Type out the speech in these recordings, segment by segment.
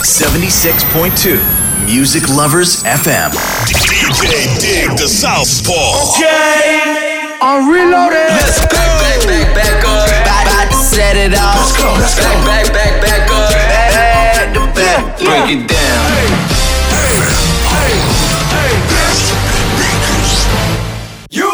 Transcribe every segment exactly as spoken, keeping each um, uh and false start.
seventy-six point two Music Lovers エフエム D J Dig the Southpaw. Okay, I'm reloaded. Let's go. Back, back, back, back up. About, about to set it off. Let's go, let's go. Back, back, back, back up. Back to back. Break yeah. it down. Hey, hey, hey, this You.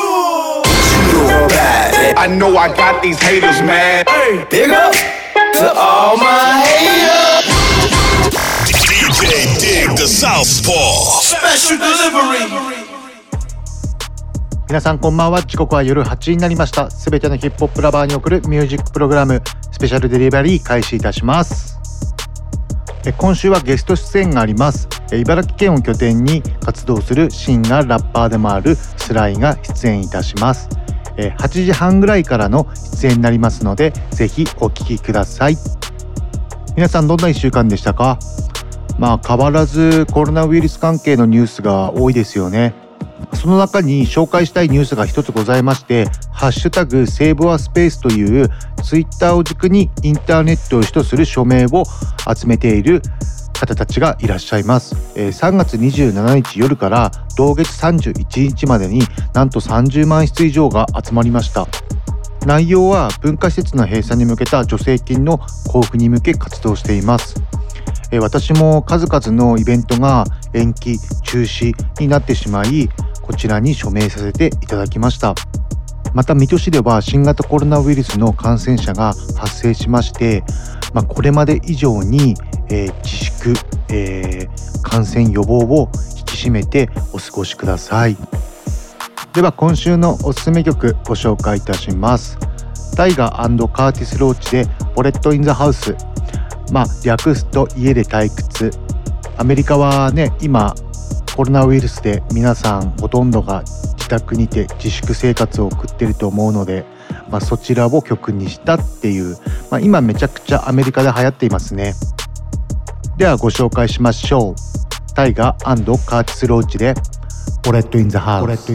I know I got these haters mad. Hey, big up to all my haters. D J Dig the Southpaw. Special delivery. 皆さんこんばんは。時刻は夜はちじになりました。すべてのヒップホップラバーに送るミュージックプログラムスペシャルデリバリー開始いたします。え今週はゲスト出演があります。え茨城県を拠点に活動するシンガーラッパーでもあるスライが出演いたします。えはちじはんぐらいからの出演になりますので、ぜひお聞きください。皆さんどんないっしゅうかんでしたか？まあ変わらずコロナウイルス関係のニュースが多いですよね。その中に紹介したいニュースが一つございまして、ハッシュタグセーブアスペースというツイッターを軸にインターネットを主とする署名を集めている方たちがいらっしゃいます。さんがつにじゅうしちにち夜から同月さんじゅういちにちまでになんとさんじゅうまんしつ以上が集まりました。内容は文化施設の閉鎖に向けた助成金の交付に向け活動しています。私も数々のイベントが延期中止になってしまい、こちらに署名させていただきました。また水戸市では新型コロナウイルスの感染者が発生しまして、まあ、これまで以上に、えー、自粛、えー、感染予防を引き締めてお過ごしください。では今週のおすすめ曲ご紹介いたします。タイガー&カーティス・ローチでポレット・イン・ザ・ハウス。まあ略すと家で退屈。アメリカはね、今コロナウイルスで皆さんほとんどが自宅にて自粛生活を送っていると思うので、まあ、そちらを曲にしたっていう、まあ、今めちゃくちゃアメリカで流行っていますね。ではご紹介しましょう。タイガー&カーティス・ローチでポレット・イン・ザ・ハウス。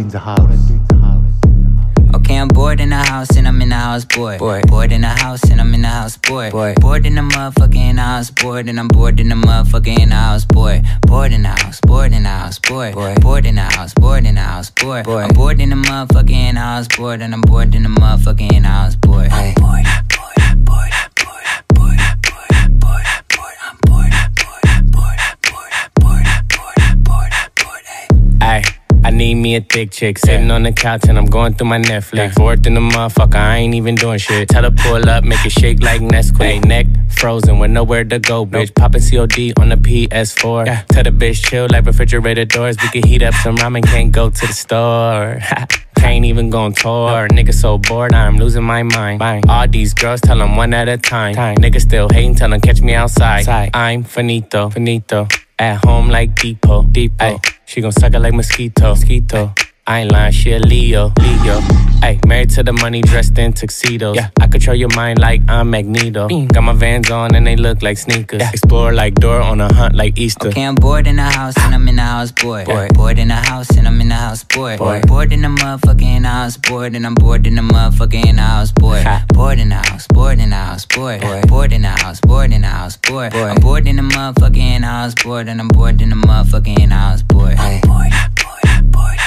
Okay, I'm bored in the house and I'm in the house bored. Bored, bored in the house and I'm in the house bored. Bored, bored in the motherfucker in the house bored and I'm bored in the motherfucker in the house bored. Bored in the house, bored in the house bored. Bored, bored in the house, bored in the house bored. Bored, I'm bored in the motherfucker in the house bored and I'm bored in the motherfucker in the house bored. I'm bored, bored, bored, bored, bored, bored, bored, bored. I'm bored, bored, bored, bored, bored, bored, bored. Ay. I need me a thick chick, sitting on the couch and I'm going through my Netflix. Fourth in the motherfucker, I ain't even doing shit. Tell her pull up, make it shake like Nesquik. Neck frozen with nowhere to go, bitch. Poppin' C O D on the P S four. Tell the bitch chill like refrigerator doors. We can heat up some ramen, can't go to the store. Can't even go on tour. Nigga so bored, I'm losing my mind. All these girls tell them one at a time. Nigga still hating, tell them catch me outside. I'm finito, finito. At home like Depot, Depot. Ay, she gon' suck it like mosquito, mosquito. I ain't lying, she a Leo, Leo. Ay, married to the money, dressed in tuxedos. Yeah, I control your mind like I'm Magneto. Mm. Got my Vans on and they look like sneakers. Yeah. Explore like Dora on a hunt like Easter. Okay, I'm bored in the house and I'm in the house bored. Bored, bored in the house and I'm in the house bored. Bored, bored in the motherfucker in the house bored and I'm bored in the motherfucker in the house bored. Bored in the house, bored in the house bored. Bored, bored in the house, bored in the house bored. Bored, I'm bored in the motherfucker in the house bored and I'm bored in the motherfucker in the house bored. I'm bored, bored, bored.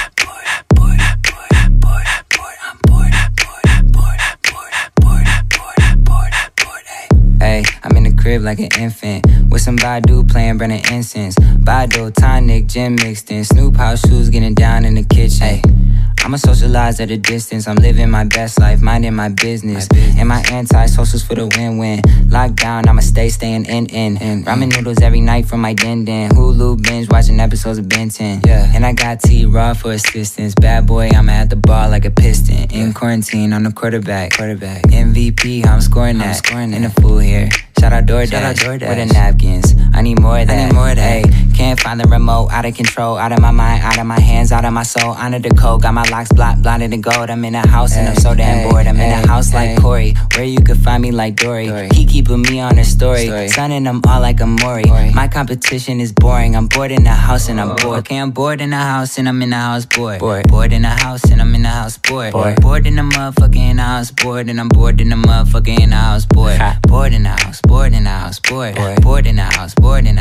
Ay, I'm in the crib like an infant with some Badu playing burning incense. Badu, tonic, gin mixed in. Snoop house shoes getting down in the kitchen. Ay, I'ma socialize at a distance. I'm living my best life, minding my business. My business. And my anti-socials for the win-win. Lockdown, I'ma stay staying in in. in Ramen noodles every night from my den den. Hulu binge watching episodes of Ben ten. Yeah. And I got T-Raw for assistance. Bad boy, I'ma at the bar like a piston. In yeah. quarantine, I'm the quarterback. Quarterback. M V P, how I'm scoring that. I'm scoring that. In the fool here. Shout out DoorDash, Shout out DoorDash. With the napkins. I need more of that. I need more of that. Ay, can't find the remote. Out of control. Out of my mind. Out of my hands. Out of my soul. Under the code. Got my locks blocked. Blinded in gold. I'm in a house ay, and I'm so damn ay, bored. I'm ay, in a house ay, like Corey. Where you could find me like Dory. Dory. He keeping me on her story. story. Sunning them all like a Maury. Maury. My competition is boring. I'm bored in the house and I'm bored. Okay, I'm bored in the house and I'm in the house bored. Bored, bored in the house and I'm in the house bored. Bored, bored in the motherfucker in the house bored. And I'm bored in the motherfucker in the house bored. Bored in the house. Bored in the house. Bored. Bored in the house. Bored in the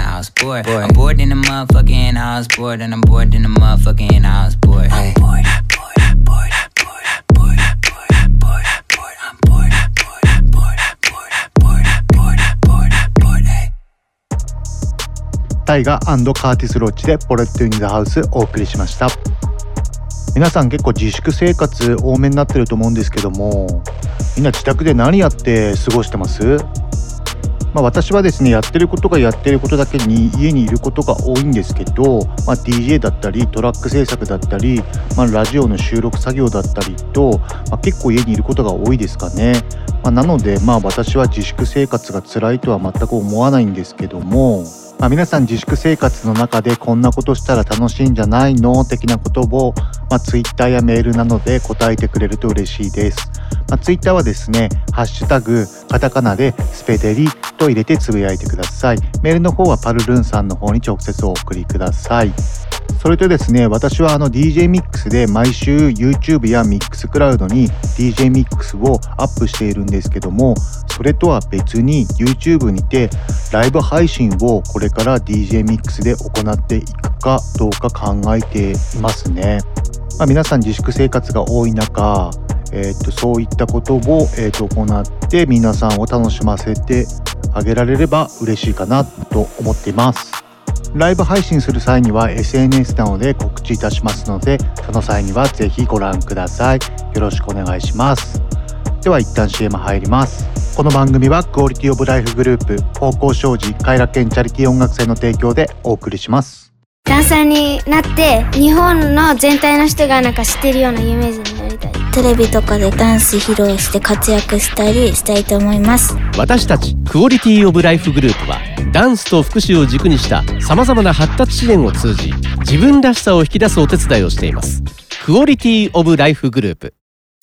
in-house board. board. I'm bored in the motherfucking in-house board, and I'm bored in the motherfucking in-house board. Hey. I'm bored, I'm bored, I'm bored, I'm bored, I'm bored, I'm bored, I'm bored, I'm bored, I'm bored, I'm bored, I'm bored, I'm bored, I'm bored, I'm bored, I'm bored, hey. タイガ&カーティス・ロッチでポレット・イン・ザ・ハウスお送りしました。皆さん結構自粛生活多めになってると思うんですけども、みんな自宅で何やって過ごしてます？まあ、私はですね、やってることがやってることだけに家にいることが多いんですけど、まあ、ディージェー だったりトラック制作だったり、まあ、ラジオの収録作業だったりと、まあ、結構家にいることが多いですかね。まあ、なのでまあ私は自粛生活が辛いとは全く思わないんですけども、まあ、皆さん自粛生活の中でこんなことしたら楽しいんじゃないの的なことを、まあ、Twitter やメールなどで答えてくれると嬉しいです。まあ、Twitter はですね、ハッシュタグカタカナでスペデリと入れてつぶやいてください。メールの方はパルルンさんの方に直接お送りください。それとですね、私はあの ディージェー ミックスで毎週 YouTube や Mixcloud に ディージェー ミックスをアップしているんですけども、それとは別に YouTube にてライブ配信をこれから ディージェー ミックスで行っていくかどうか考えていますね。まあ、皆さん自粛生活が多い中、えー、とそういったことを、えー、と行って皆さんを楽しませてあげられれば嬉しいかなと思っています。ライブ配信する際には エスエヌエス などで告知いたしますので、その際にはぜひご覧ください。よろしくお願いします。では一旦 シーエム 入ります。この番組はクオリティオブライフグループ方向障子偕楽園チャリティー音楽祭の提供でお送りします。 ダンサーになって日本の全体の人がなんか知ってるような有名人になりたい。 テレビとかでダンス披露して活躍したりしたいと思います。 私たちクオリティオブライフグループはダンスと福祉を軸にしたさまざまな発達支援を通じ自分らしさを引き出すお手伝いをしています。クオリティオブライフグループ。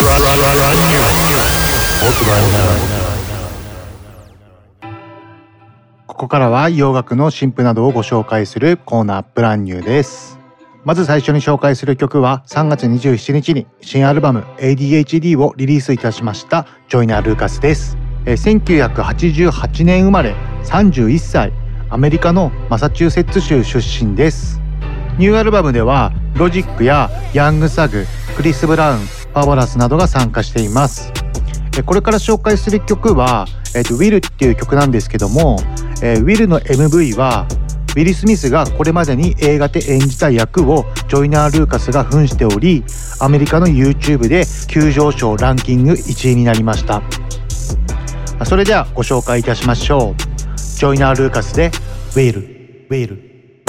ここからは洋楽の新譜などをご紹介するコーナーブランニューです。まず最初に紹介する曲はさんがつにじゅうしちにちに新アルバム エーディーエイチディー をリリースいたしましたジョイナー・ルーカスです。せんきゅうひゃくはちじゅうはちねん生まれ、さんじゅういっさい、アメリカのマサチューセッツ州出身です。ニューアルバムではロジックやヤングサグ、クリス・ブラウン、パワラスなどが参加しています。これから紹介する曲は、えー、とウィルっていう曲なんですけども、えー、ウィルの エムブイ はウィル・スミスがこれまでに映画で演じた役をジョイナー・ルーカスが扮しており、アメリカの YouTube で急上昇ランキングいちいになりました。それではご紹介いたしましょう。ジョイナー・ルーカスでウィル、ウィル。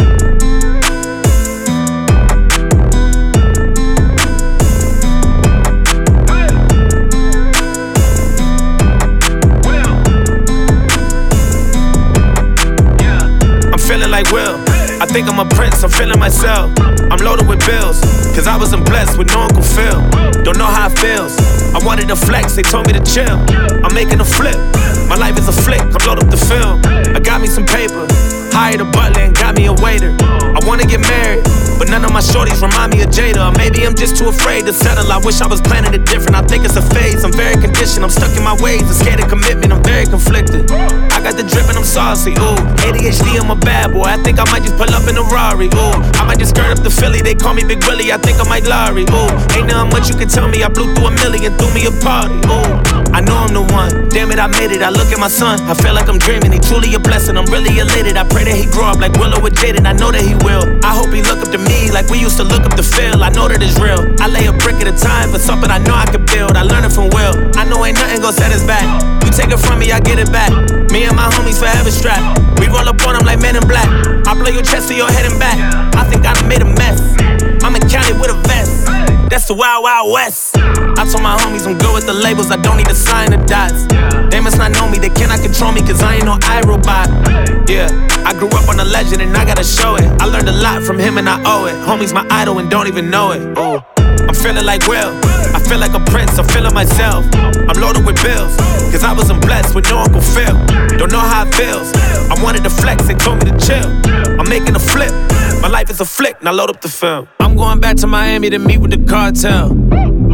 Like Will, I think I'm a prince, I'm feeling myself. I'm loaded with bills, cause I wasn't blessed with no Uncle Phil. Don't know how it feels, I wanted to flex, they told me to chill. I'm making a flip, my life is a flick, I'm loaded up the film. I got me some paper, hired a butler and got me a waiter. I wanna get married, but none of my shorties remind me of Jada. Or maybe I'm just too afraid to settle, I wish I was planning it different. I think it's a phase, I'm very conditioned, I'm stuck in my ways. I'm scared of commitment, I'm very conflicted. I got the drip and I'm saucy, ooh. A D H D, I'm a bad boy, I think I might just pull up in a Rari, ooh. I might just skirt up the Philly, they call me Big Willie, I think I might Larry, ooh. Ain't nothing much you can tell me, I blew through a million, threw me a party, ooh. I know I'm the one, damn it, I made it, I look at my son, I feel like I'm dreaming, he truly a blessing, I'm really elated. I pray that he grow up like Willow with Jaden, I know that he will. I hope he look up to me like we used to look up to Phil, I know that it's real. I lay a brick at a time for something I know I can build, I learned it from Will. I know ain't nothing gon' set us back, you take it from me, I get it back. Me and my homies forever strapped, we roll up on them like Men in Black. I blow your chest to your head and back, I think I done made a mess. I'm in Cali with a vest, that's the Wild Wild West. I told my homies I'm good with the labels, I don't need to sign the dots. They must not know me, they cannot control me, cause I ain't no iRobot. Yeah, I grew up on a legend and I gotta show it. I learned a lot from him and I owe it. Homie's my idol and don't even know it. Ooh. I'm feeling like Will, I feel like a prince, I'm feeling myself. I'm loaded with bills, cause I wasn't blessed with no Uncle Phil. Don't know how it feels, I wanted to flex, they told me to chill. I'm making a flip, my life is a flick, now load up the film. I'm going back to Miami to meet with the cartel.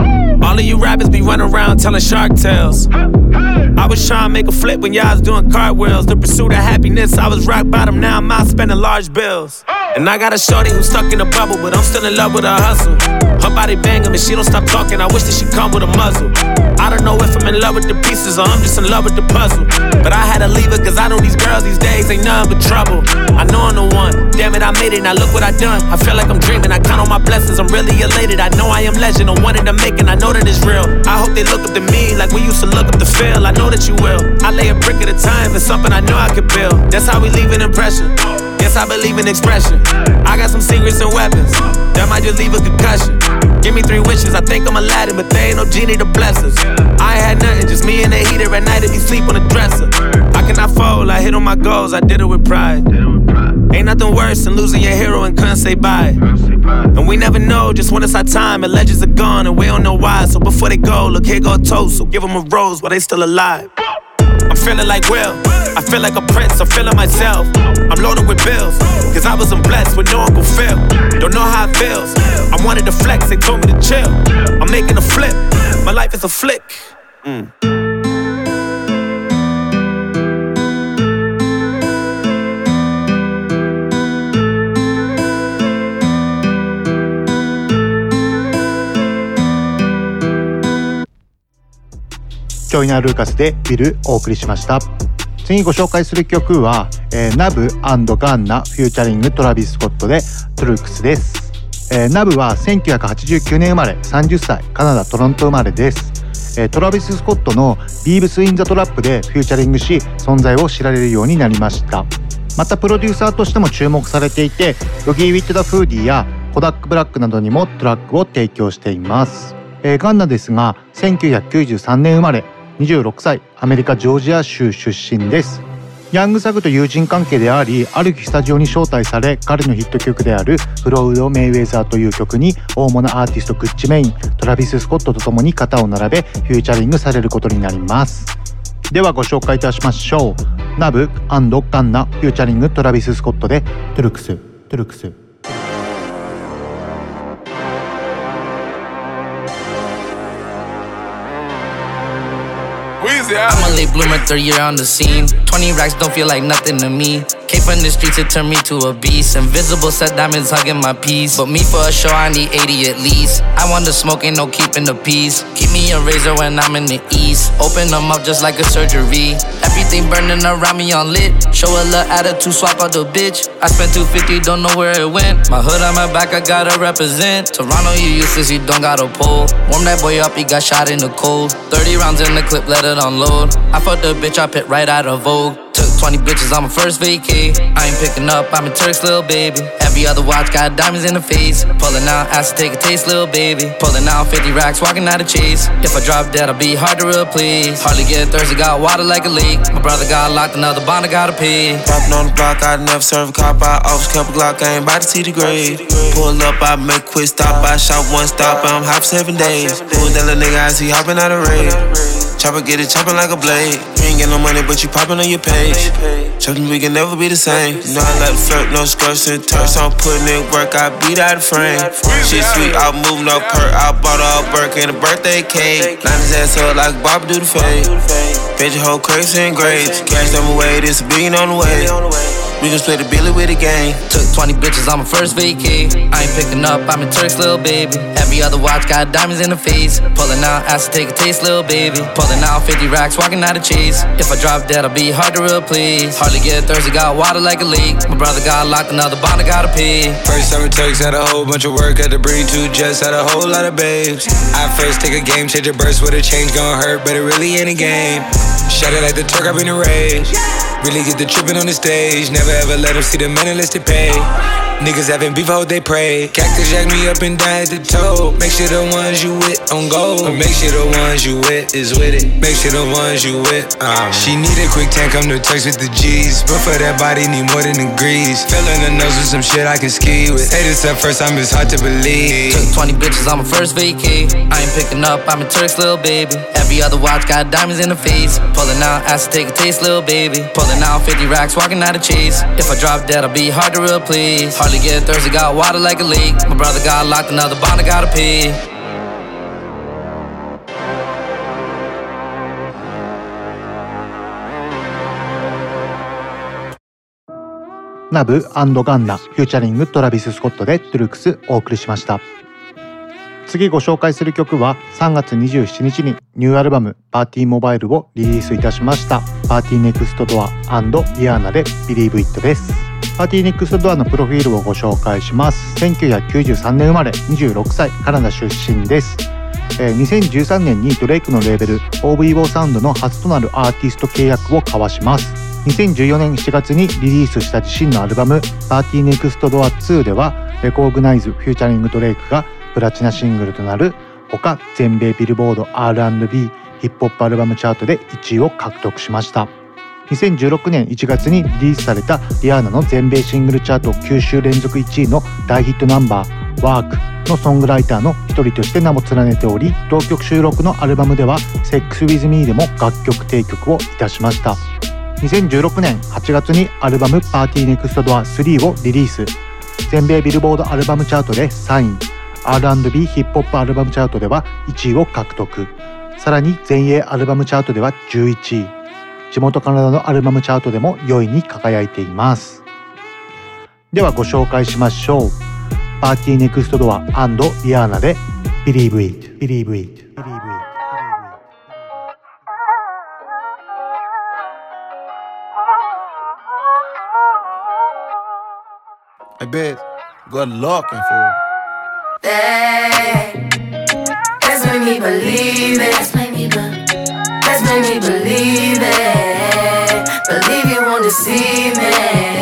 All of you rappers be running around telling shark tales. I was trying to make a flip when y'all was doing cartwheels. The pursuit of happiness, I was rock bottom, now I'm out spending large bills. And I got a shorty who's stuck in a bubble, but I'm still in love with her hustle. Her body banging, but she don't stop talking, I wish that she come with a muzzle. I don't know if I'm in love with the pieces or I'm just in love with the puzzle. But I had to leave her cause I know these girls these days ain't nothing but trouble. I know I'm the one, damn it I made it, now look what I done. I feel like I'm dreaming, I count on my blessings, I'm really elated. I know I am legend, I wanted to make it, I know that it's real. I hope they look up to me like we used to look up to Phil. I know that you will. I lay a brick at a time, it's something I know I could build. That's how we leave an impression. Yes, I believe in expression. I got some secrets and weapons that might just leave a concussion. Give me three wishes, I think I'm Aladdin, but there ain't no genie to bless us. I ain't had nothing, just me and the heater at night if you sleep on the dresser. I cannot fold, I hit on my goals, I did it with pride. Ain't nothing worse than losing your hero and couldn't say bye. And we never know just when it's our time, and legends are gone and we don't know why. So before they go, look here go a toast, so give them a rose while they still alive. I'm feeling like Will, I feel like a prince, I'm feeling myself. I'm loaded with bills, cause I wasn't blessed with no Uncle Phil. Don't know how it feels, I wanted to flex, they told me to chill. I'm making a flip, my life is a flick. mm. ジョイナー・ルーカスでビルお送りしました。次ご紹介する曲は、えー、ナブ&ガンナフューチャリングトラビス・スコットでトゥルクスです。えー、ナブはせんきゅうひゃくはちじゅうきゅうねん生まれ、さんじゅっさい、カナダ・トロント生まれです。えー、トラビス・スコットのビーブス・イン・ザ・トラップでフューチャリングし存在を知られるようになりました。またプロデューサーとしても注目されていて、ヨギー・ウィット・ダ・フーディーやコダック・ブラックなどにもトラックを提供しています。えー、ガンナですがせんきゅうひゃくきゅうじゅうさんねん生まれ、にじゅうろくさい、アメリカ・ジョージア州出身です。ヤングサグと友人関係であり、ある日スタジオに招待され、彼のヒット曲であるフロウド・メイウェザーという曲に大物アーティストグッチ・メイン、トラビス・スコットと共に肩を並べフューチャリングされることになります。ではご紹介いたしましょう。ナブ&ガンナフューチャリングトラビス・スコットでトゥルクス、トゥルクス。 I'm a late bloomer, third year on the scene. Twenty racks don't feel like nothing to me. Came from the streets, it turned me to a beast. Invisible set diamonds hugging my piece. But me for a show, I need eighty at least. I want the smoke, ain't no keeping the peace. Keep me a razor when I'm in the east. Open them up just like a surgery. Everything burning around me on lit. Show a little attitude, swap out the bitch. I spent two fifty, don't know where it went. My hood on my back, I gotta represent. Toronto, you useless, you don't got a pole. Warm that boy up, he got shot in the cold. Thirty rounds in the clip, let it unload. I fucked the bitch, I picked right out of Vogue. Took twenty bitches on my first vacay. I ain't picking up, I'm a Turk's little baby. Every other watch got diamonds in the face. Pulling out, asked to take a taste, little baby. Pulling out fifty racks, walking out of chase. If I drop dead, I'll be hard to replace. Hardly get thirsty, got water like a lake. My brother got locked, another bond I gotta pay. Popping on the block, I never serve a cop. I always kept a Glock, I ain't about to see the grave. Pull up, I make quick stop. I shot one stop, I'm hot for seven days. Who that little nigga I see hopping out of raid? Chopper get it chopping like a blade. You ain't get no money, but you popping on your page. Something we can never be the same. You know I like to flirt, no skirts and turfs. I'm putting in work, I beat out the frame. Shit sweet, I'm moving up perk. I bought all Burke and a birthday cake. Line his ass up like Bob do the fade. Fed your whole crates and grades. Cash them away, this a billion on the way. We gon' split the billy with the gang. Took twenty bitches on my first vacay. I ain't picking up, I'm a Turk's little baby. Every other watch got diamonds in the face. Pulling out, asked to take a taste, little baby. Pulling out fifty racks, walking out of chase. If I drop dead, I'll be hard to replace. Hardly get thirsty, got water like a lake. My brother got locked, another bond I gotta pay. First summer Turks had a whole bunch of work. Had to bring two jets, had a whole lot of babes. I first take a game changer burst with a change gon' hurt, but it really ain't a game. Shut it like the Turk, I've been a rage. Really get the trippin' on the stage. Never ever let them see the men unless they pay. Niggas having beef, I hope they pray. Cactus jack me up and down at the toe. Make sure the ones you with on go. Make sure the ones you with is with it. Make sure the ones you with. Um. She need a quick tank, come to Turks with the G's. But for that body, need more than degrees. Filling the nose with some shit I can ski with. Hey, this at first time, it's hard to believe. Took twenty bitches on my first vacay. I ain't picking up, I'm a Turk's little baby. Every other watch got diamonds in the face. Pulling out, asked to take a taste, little baby. Pulling out fifty racks, walking out of chase. If I drop dead, I'll be hard to replace. Hardly get thirsty, got water like a lake. My brother got locked, another bond I gotta pay. ナブ&ガンナフューチャリングトラビス・スコットでトゥルクスお送りしました。次ご紹介する曲はさんがつにじゅうしちにちにニューアルバムパーティーモバイルをリリースいたしましたパーティーネクストドア&リアーナで Believe It です。パーティーネクストドアのプロフィールをご紹介します。せんきゅうひゃくきゅうじゅうさんねん生まれ、にじゅうろくさい、カナダ出身です。えー、にせんじゅうさんねんにドレイクのレーベル オーブイ サウンドの初となるアーティスト契約を交わします。にせんじゅうよねんしちがつにリリースした自身のアルバムパーティーネクストドアツーではレコーグナイズフューチャリングドレイクがプラチナシングルとなるほか全米ビルボード アールアンドビー ヒップホップアルバムチャートでいちいを獲得しました。にせんじゅうろくねんいちがつにリリースされたリアーナの全米シングルチャートきゅうしゅう連続いちいの大ヒットナンバーワークのソングライターの一人として名も連ねており、同曲収録のアルバムでは Sex With Me でも楽曲提供をいたしました。にせんじゅうろくねんはちがつにアルバムパーティーネクストドアスリーをリリース。全米ビルボードアルバムチャートでさんい、アールアンドビー ヒップホップアルバムチャートではいちいを獲得。さらに全英アルバムチャートではじゅういちい、地元カナダのアルバムチャートでもよいに輝いています。ではご紹介しましょう。パーティーネクストドア&リアーナで Believe It Believe It Hey, bitch, good looking for Hey, let's make me believe it. Let's make me believe. Let's make me believe it. Believe you won't deceive me.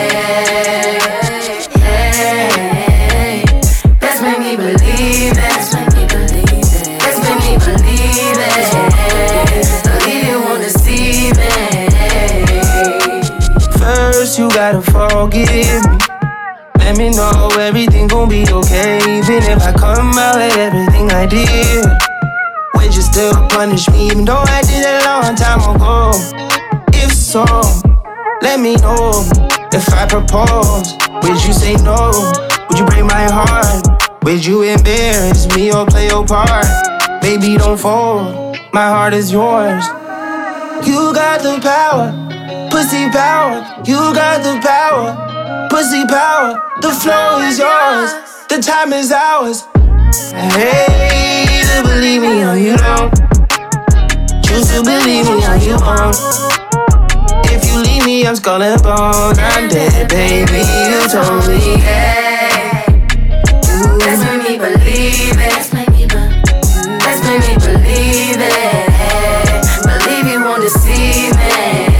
Hey, let's make me believe it. Let's make me believe it. Let's make me believe it. Believe you won't deceive me. First you gotta forgive me. Let me know everything gon' be okay. Even if I come out with everything I did, would you still punish me even though I did it a long time ago? If so, let me know. If I propose, would you say no? Would you break my heart? Would you embarrass me or play your part? Baby, don't fold, my heart is yours. You got the power, pussy power. You got the power, pussy power. The flow is yours, the time is ours. Hey, to believe me or you don't. Choose to believe me or you won't. If you leave me, I'm skull and bone. I'm dead, baby, you told me. Hey, let's make me believe it. Let's make me believe. Let's make me believe it. Believe you won't deceive me.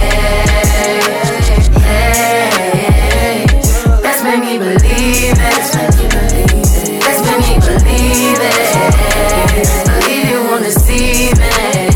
Hey, let's make me believe it. Let's make me believe it. Let's make me believe it. Believe you won't deceive me.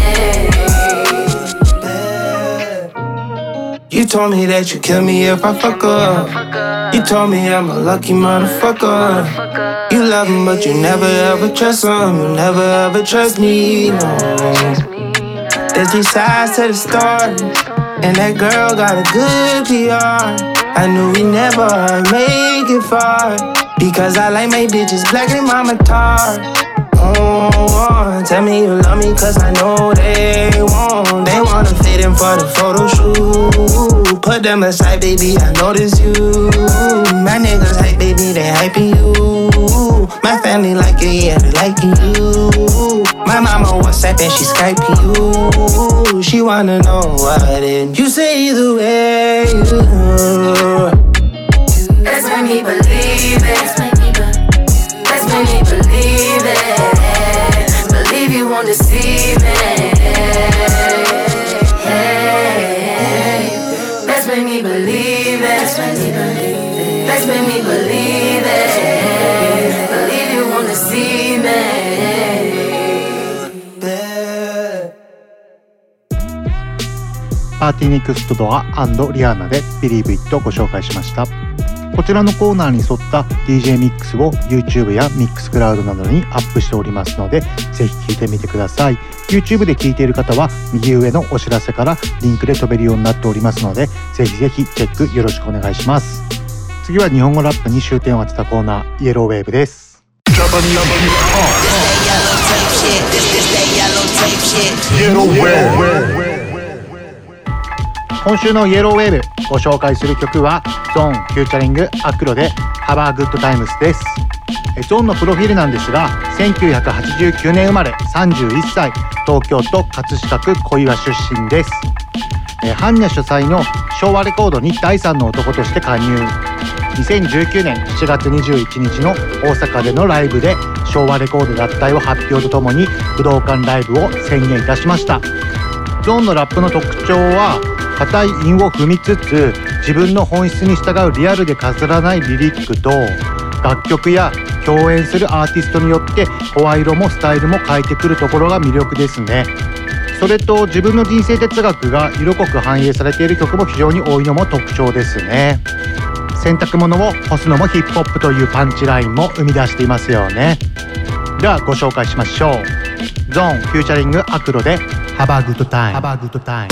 You told me that you kill me if I fuck up. You told me I'm a lucky motherfucker. You love him but you never ever trust him. You never ever trust me, no. There's three sides to the story, and that girl got a good P R. I knew we never make it far, because I like my bitches black and mama tar. Oh, oh, tell me you love me cause I know they won't. They wanna fit in for the photo shoot. Put them aside, baby, I notice you. My niggas hype, baby, they hyping you. My family like it, yeah, they liking you. My mama WhatsApp and she Skyping you. She wanna know what it. You say either way. Let's make me believe it. Let's make me believe. Let's make me believe it. Believe you won't deceive me. Hey, let's make me believe it. Let's make me believe it. Let's make me believe it. Believe you won't deceive me. パーティーネクストドア&リアーナで Believe It をご紹介しました。こちらのコーナーに沿った ディージェー ミックスを YouTube や Mixcloud などにアップしておりますので、ぜひ聴いてみてください。 YouTube で聴いている方は右上のお知らせからリンクで飛べるようになっておりますので、ぜひぜひチェックよろしくお願いします。次は日本語ラップに終点を当てたコーナー、イエローウェーブです。今週のイエローウェーブご紹介する曲はゾーンフューチャリングアクロで Have a Good Times です。ゾーンのプロフィールなんですが、せんきゅうひゃくはちじゅうきゅうねん生まれ、さんじゅういっさい、東京都葛飾区小岩出身です。ハンニャ主催の昭和レコードにだいさんの男として加入。にせんじゅうきゅうねんしちがつにじゅういちにちの大阪でのライブで昭和レコード脱退を発表とともに武道館ライブを宣言いたしました。ゾーンのラップの特徴は、硬い韻を踏みつつ自分の本質に従うリアルで飾らないリリックと、楽曲や共演するアーティストによって声色もスタイルも変えてくるところが魅力ですね。それと自分の人生哲学が色濃く反映されている曲も非常に多いのも特徴ですね。洗濯物を干すのもヒップホップというパンチラインも生み出していますよね。ではご紹介しましょう。ゾーンフューチャリングアクロで Have a Good Time。 Have a Good Time。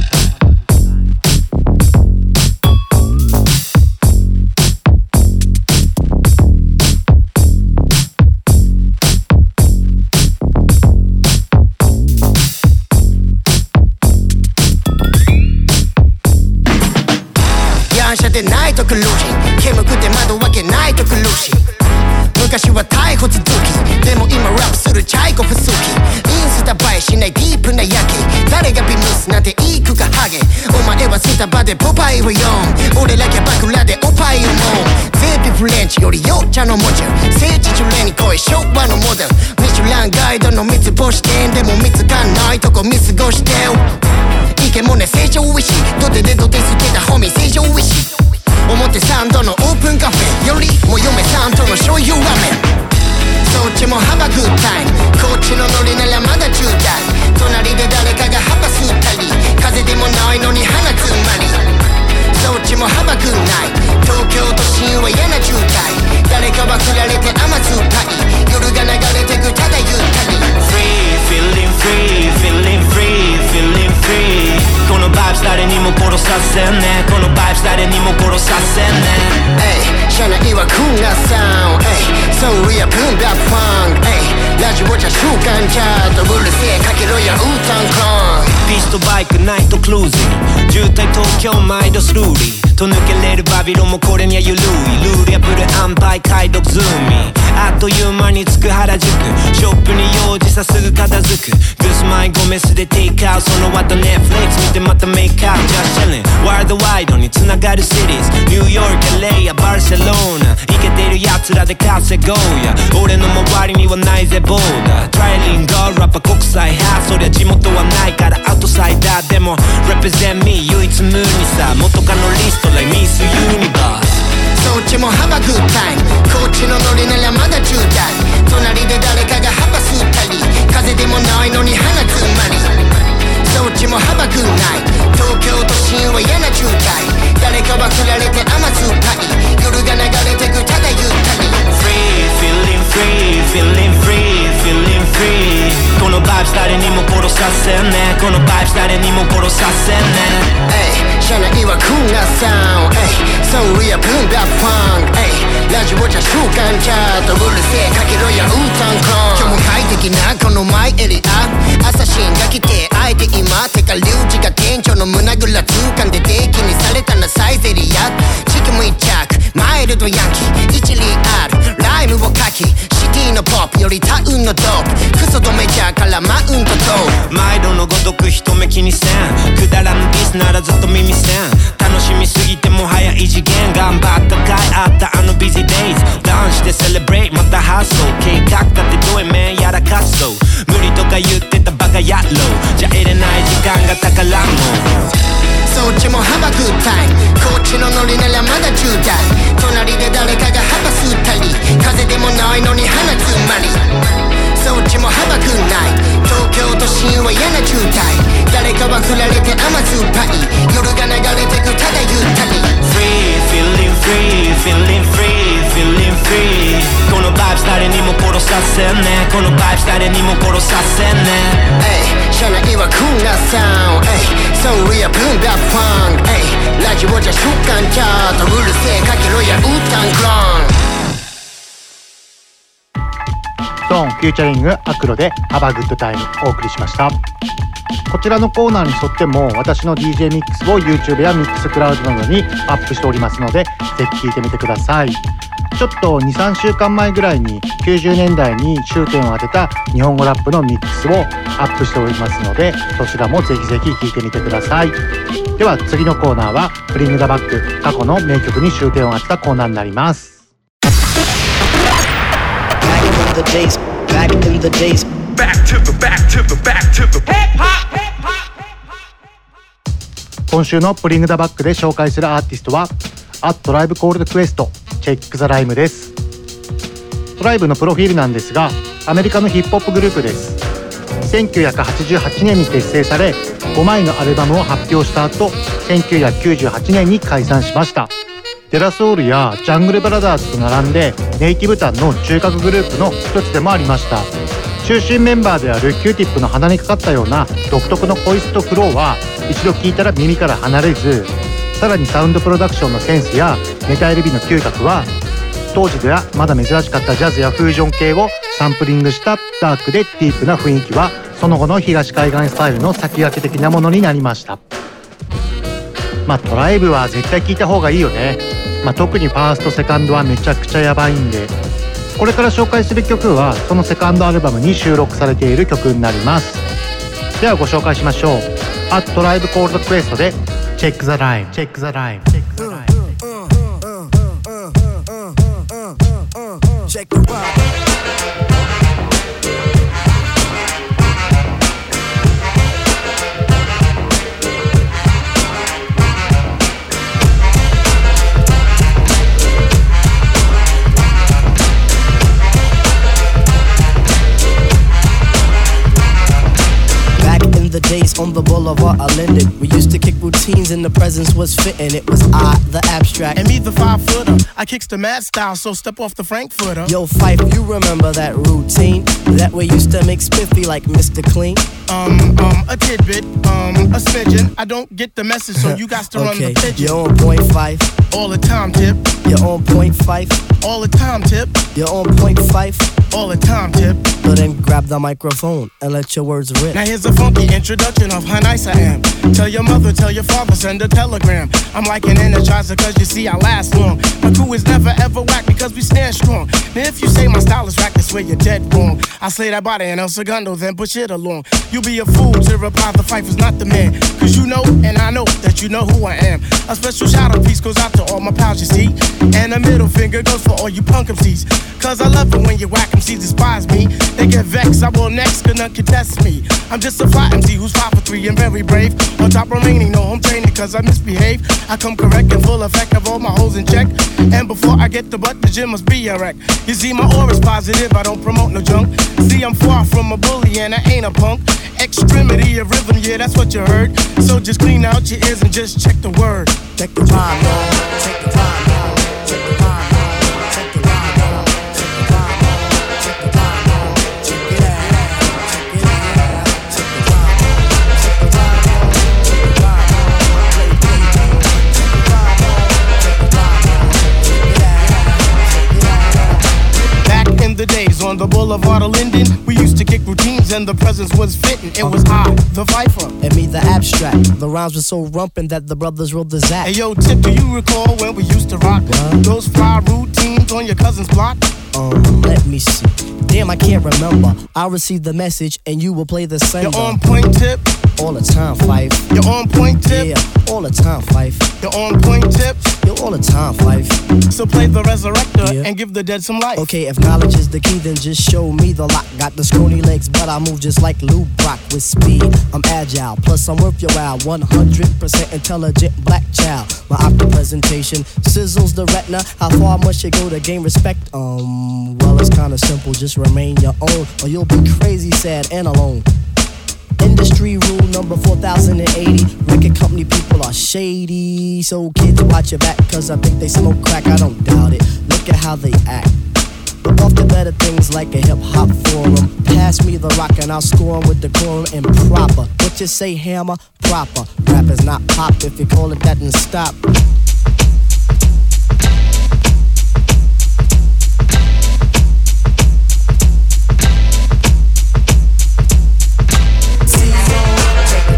でないと苦しい、煙くて窓開けないと苦しい。昔は逮捕続き、でも今ラップするチャイコフ好き。インスタ映えしないディープな夜景、誰がビミスなんていくかハゲ。お前はスタバでポパイを読む、俺らキャバクラでおっぱいをもう。ゼーピフレンチよりよっちゃの文字、聖地巡礼に来い昭和のモデル。ミシュランガイドの三つ星店でも見つかんないとこ見過ごしてよ。イケもね成長ウィシ、ドデデドデステたホミ成長ウィシ。表参道のオープンカフェよりも嫁さんとの醤油ラーメン。そっちもハバグッタイム、こっちのノリならまだじゅうだい。隣で誰かが幅吸ったり、風でもないのに鼻つまり。そっちもハバグッナイ、東京都心は嫌な渋滞。誰かは振られて甘酸っぱい、夜が流れてくただゆったり。 Free, feeling free, feeling free, feeling free。 このバイブス誰にも殺させんね、このバイブス誰にも殺させんね。Ey、車内はクーラーサウンド、Ey、ソウルやブンダーファンク、Ey、ラジオじゃ習慣チャート、うるせえかけろやウータンコン。ピストバイクナイトクルーズに渋滞東京毎度スルーリーと抜けれるバビロンもこれにはゆるい。ルール破る安牌解読ズーミー、あっという間に着く原宿。ショップに用事さすぐ片付く。グスマイゴメスでテイクアウト、その後ネットフリックス見てまたメイクアウト。Just chillin' ワールドワイドに繋がるシティーズ、ニューヨーク、エルエー やバルセロナ。イケてる奴らで稼ごうや、俺の周りにはないぜボーダー。トライリンガーラッパ国際派、そりゃ地元はないからアウトサイダー。でも represent me 唯一無二さ、元カノリスト like Miss Universe。そっちもハバグッタイム、こっちのノリならまだじゅうだい。隣で誰かが幅吸ったり、風でもないのに鼻つまり。そっちもハバグッナイ、東京都心は嫌な渋滞。誰かは振られて甘酸っぱい、夜が流れてくただゆったり。 Free, feeling free, feeling free, feeling free。 このバイブス誰にも殺させんね、このバイブス誰にも殺させんね。Ey、車内はクーラーサウンド、Ey、ソウルやブンダーファンク、Ey、ラジオじゃ習慣チャート、うるせえかけろやウータンコン。今日も快適なこのマイエリア、アサシンが来てあえて今、てかリュウジが店長の胸ぐら掴んで定期にされたなサイゼリア。チキム一着マイルドヤンキー、一理あるライムを書き、シティのポップよりタウンのドープ、クソとメジャーからマウントと毎度のごとく人目気にせん、くだらぬディスならずっと耳せん。楽しみすぎてもはや異次元、頑張った甲斐あったあのビジーデイズ。ダウンしてセレブレイまた発想、計画立てどえめんやらかそう。無理とか言ってたバカ野郎じゃ得れない時間が宝物。そっちもハバグッタイム、こっちのノリならまだじゅうだい。隣で誰かが幅吸ったり、風でもないのに鼻つまり。そっちもハバグッナイ、東京都心は嫌な渋滞。誰かは振られて甘酸っぱい、夜が流れてくただゆったり。 Free, feeling free, feeling free, feeling free。 このバイブス誰にも殺させんね、このバイブス誰にも殺させんね。Ey、車内はクーラーサウンド、Ey、ソウルやブンダーファンク、Ey、ラジオじゃ習慣チャート、うるせえかけろやウータンクロン。ゾーンフューチャリングアクロで Have a Good Time お送りしました。 こちらのコーナーに沿っても私の ディージェー ミックスを YouTube や Mixcloud などにアップしておりますので、ぜひ聴いてみてください。ちょっと にさんしゅうかんまえぐらいにきゅうじゅうねんだいに終点を当てた日本語ラップのミックスをアップしておりますので、そちらもぜひぜひ聴いてみてください。では次のコーナーはブリングザバック、過去の名曲に終点を当てたコーナーになります。今週のブリングザバックで紹介するアーティストはアットライブコールドクエストチェックザライムです。トライブのプロフィールなんですが、アメリカのヒップホップグループです。せんきゅうひゃくはちじゅうはちねんに結成され、ごまいのアルバムを発表した後、せんきゅうひゃくきゅうじゅうはちねんに解散しました。デラソウルやジャングルブラザーズと並んでネイティブタンの中核グループの一つでもありました。中心メンバーである キューティップの鼻にかかったような独特のボイスとフローは一度聞いたら耳から離れず、さらにサウンドプロダクションのセンスやメタ エルビー の嗅覚は当時ではまだ珍しかったジャズやフージョン系をサンプリングしたダークでディープな雰囲気はその後の東海岸スタイルの先駆け的なものになりました。まあトライブは絶対聴いた方がいいよね。まあ、特にファーストセカンドはめちゃくちゃやばいんで、これから紹介する曲はそのセカンドアルバムに収録されている曲になります。ではご紹介しましょう。アットライブコールドクエストでチェックザライム、チェックザライム、チェックザライム、チェックザライム。 The days on the boulevard I lended. We used to kick routines and the presence was fitting. It was I, the abstract, and me, the five footer. I kicks the mad style, so step off the Frankfurter. Yo, Fife, you remember that routine? That way used to make spiffy like Mister Clean. Um, um, a tidbit, um, a smidgen. I don't get the message, so you got to okay. run the pigeon. You're on point five. All the time, tip. You're on point five. All the time, tip. You're on point five. All the time, tip. So then grab the microphone and let your words rip. Now here's a funky introduction of how nice I am. Tell your mother, tell your father, send a telegram. I'm like an energizer cause you see I last long. My crew is never ever whack because we stand strong. Now if you say my style is whack, that's where you're dead wrong. I slay that body and El Segundo, then push it along. You be a fool to reply the fight was not the man. Cause you know and I know that you know who I am. A special shout out piece goes out to all my pals you see. And a middle finger goes for all you punk M Cs. Cause I love it when you whack M Cs despise me. They get vexed, I will next, cause none can test me. I'm just a fly M C who's five for three and very brave. On top remaining, no home training cause I misbehave. I come correct and full effect of all my hoes in check. And before I get the butt, the gym must be a wreck. You see my aura's positive, I don't promote no junk. See I'm far from a bully and I ain't a punk. Extremity of rhythm, yeah that's what you heard. So just clean out your ears and just check the word. Check the rhyme, y'all. Check the rhyme, y'all. Check the rhyme, y'all. Check the rhyme, y'all. Check the rhyme, y'all. Check the rhyme, y'all. Check it out. Check it out. Check the rhyme, y'all. Check the rhyme, y'all. Check the rhyme, y'all. Play D J. Check the rhyme, y'all. Check the rhyme, y'all. Check it out. Check it out. Back in the days on the boulevard of Linden, we used to kick routines and the presence was fitting. It was I, the Viper, and me, the abstract. The rhymes were so rumpin' that the brothers wrote the Zach. Hey yo, Tip, do you recall when we used to rock what? Those fly routines on your cousin's block? Um, let me see. Damn, I can't remember. I'll receive the message and you will play the sender. You're on point, Tip. All the time, Fife. You're on point, Tip. Yeah, all the time, Fife. You're on point, Tip. You're all the time, Fife. So play the resurrector yeah. and give the dead some life. Okay, if knowledge is the key, then just show me the lock. Got the scrawny legs, but I move just like Lou Brock with speed. I'm agile, plus I'm worth your while. one hundred percent intelligent black child. My optic presentation sizzles the retina. How far must you go to gain respect? Um, well, it's kinda simple. Just remain your own, or you'll be crazy, sad, and alone. Industry rule number four thousand eighty. Record company people are shady. So kids watch your back, cause I think they smoke crack. I don't doubt it. Look at how they act. But off to better things like a hip-hop forum. Pass me the rock and I'll score 'em with decorum and proper. What you say, hammer? Proper. Rap is not pop. If you call it that, then stop. Check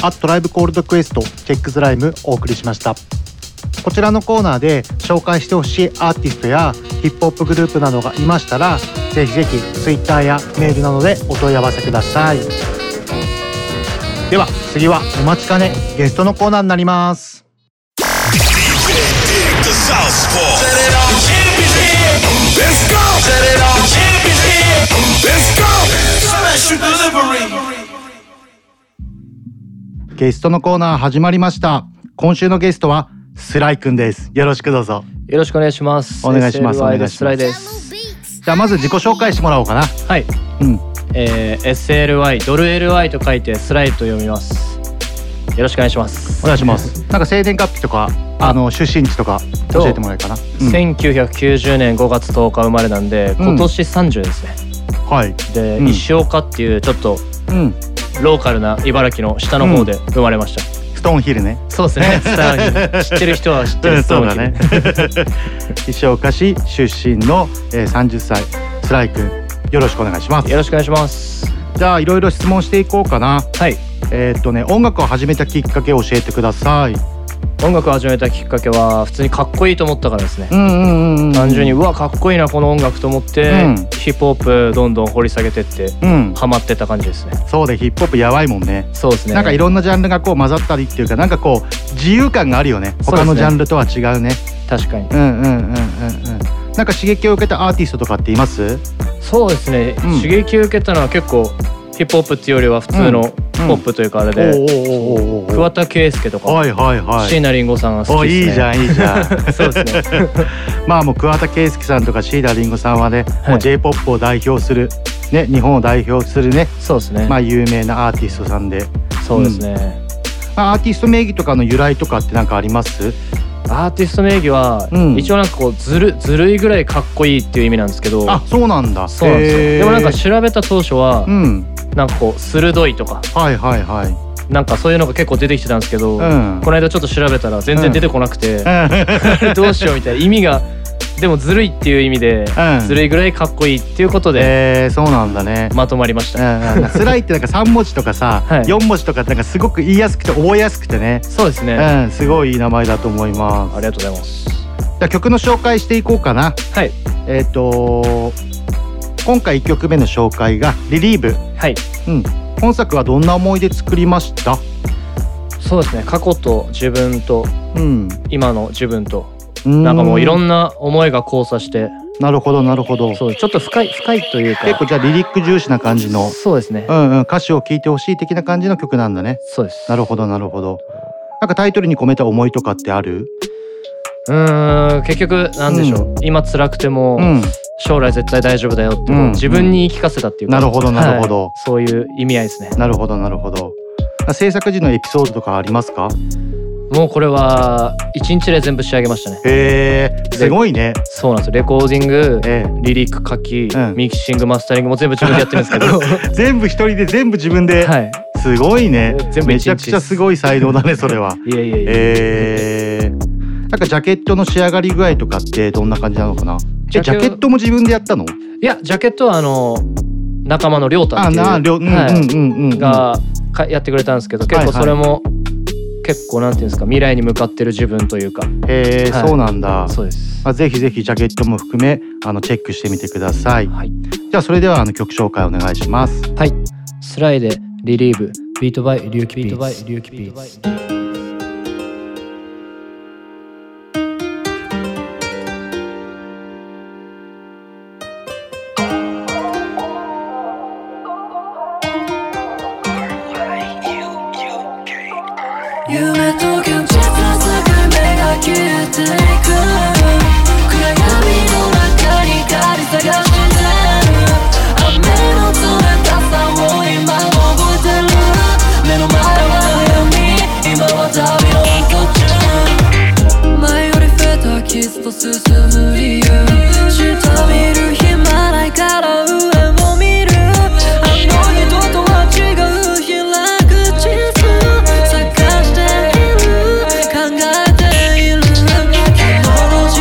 アットライブコールドクエストチェックズライムお送りしました。こちらのコーナーで紹介してほしいアーティストやヒップホップグループなどがいましたら、ぜひぜひ Twitter やメールなどでお問い合わせください。では次はお待ちかねゲストのコーナーになります。ゲストのコーナー始まりました。今週のゲストはスライくんです。よろしくどうぞ。 よろしくお願いします。 お願いします。お願いします。 スライです。 じゃあまず自己紹介してもらおうかな。 はい。 うん。 えー、エスエルワイ ドル エルワイ と書いてスライと読みます。よろしくお願いします。 お願いします。なんか生年月日とかあの出身地とか教えてもらえるかな。 うん、せんきゅうひゃくきゅうじゅうねんごがつとおか生まれなんで、今年さんじゅうですね。 うん、はい。 で、 うん、 石岡っていうちょっと、うん、ローカルな茨城の下の方で生まれました。うんストーンヒルね。 そうですね。ストーンヒル。知ってる人は知ってるストーンヒル。 そうだね。石岡市出身の、えー、さんじゅっさいスライ君、よろしくお願いします。 よろしくお願いします。 じゃあいろいろ質問していこうかな。 はい。 えー、っとね音楽を始めたきっかけを教えてください。 音楽を始めたきっかけは普通にかっこいいと思ったからですね。 うんうんうんうん、 単純にうわかっこいいなこの音楽と思って、うん、ヒップホップどんどん掘り下げてって、うん、ハマってた感じですね。 そうでヒップホップやばいもんね。 そうですね。 なんかいろんなジャンルがこう混ざったりっていうかなんかこう自由感があるよね。他のジャンルとは違うね。 確かに。 うんうんうんうんうん。なんか刺激を受けたアーティストとかっています？ そうですね、うん、刺激を受けたのは結構ヒップホップっていうよりは普通のポップというかあれで、桑田佳祐とか椎名林檎さんが好きですね。 いいじゃんいいじゃん。そうですね。 まあもう桑田佳祐さんとか椎名林檎さんはね、もう J-ポップ を代表するね、日本を代表するね、 そうですね。 まあ有名なアーティストさんで、 そうですね。 アーティスト名義とかの由来とかってなんかあります？ アーティスト名義は、うん、一応なんかこうずるずるいぐらいかっこいいっていう意味なんですけど。 あ、そうなんだ。 そうなんですよ。でもなんか調べた当初は、うん、なんかこう鋭いとか、 はいはいはい、 なんかそういうのが結構出てきてたんですけど、うん、この間ちょっと調べたら全然出てこなくて、うん、どうしようみたいな意味が。でもずるいっていう意味で、うん、ずるいぐらいかっこいいっていうことで、 えー、そうなんだね。 まとまりました。 うん、スライってなんかさんもじとかさ、はい、よんもじとかってなんかすごく言いやすくて覚えやすくてね。 そうですね。 うん、すごいいい名前だと思います。 ありがとうございます。 じゃあ曲の紹介していこうかな。 はい。 えっ、ー、と今回いっきょくめの紹介がリリーブ。 はい。 うん。本作はどんな思いで作りました？ そうですね。過去と自分と、うん、今の自分と。 んなんかもういろんな思いが交差して。 なるほどなるほど。 そうちょっと深い深いというか結構じゃあリリック重視な感じの。 そうですね。 うんうん、歌詞を聴いてほしい的な感じの曲なんだね。 そうです。 なるほどなるほど。なんかタイトルに込めた思いとかってある？ うーん結局なんでしょう、うん、今辛くても、うん、将来絶対大丈夫だよって、うん、自分に言い聞かせたっていうか、 うん、なるほどなるほど、 はい、そういう意味合いですね。 なるほどなるほど。制作時のエピソードとかありますか？ もうこれはいちにちで全部仕上げましたね。 へーすごいね。 そうなんですよ。レコーディング、えー、リリック書き、うん、ミキシングマスタリングも全部自分でやってるんですけど全部一人で全部自分で、はい、すごいね。 全部めちゃくちゃすごい才能だねそれは。 いやいやいや、 えー、なんかジャケットの仕上がり具合とかってどんな感じなのかな？ジャケットも自分でやったの？ いやジャケットはあの仲間の亮太っていうあな、うんうんうんうん、 がやってくれたんですけど、結構それも、はいはい、結構なんていうんですか、未来に向かってる自分というか。 へえ、はい、そうなんだ。 そうです。 まあ、ぜひぜひジャケットも含めあのチェックしてみてください。 はい、 じゃあそれではあの曲紹介お願いします。 はい。スライでリリーブ、ビートバイリュウキピース。 夢と現実の境目が消えていく。暗闇の中に光探してる。雨の冷たさを今も覚えてる。目の前は闇、今は旅の途中。前より増えた傷と進む理由。下見る暇ないから上を見る。あの人とは違う開く地図。探している、考えている。昨日の自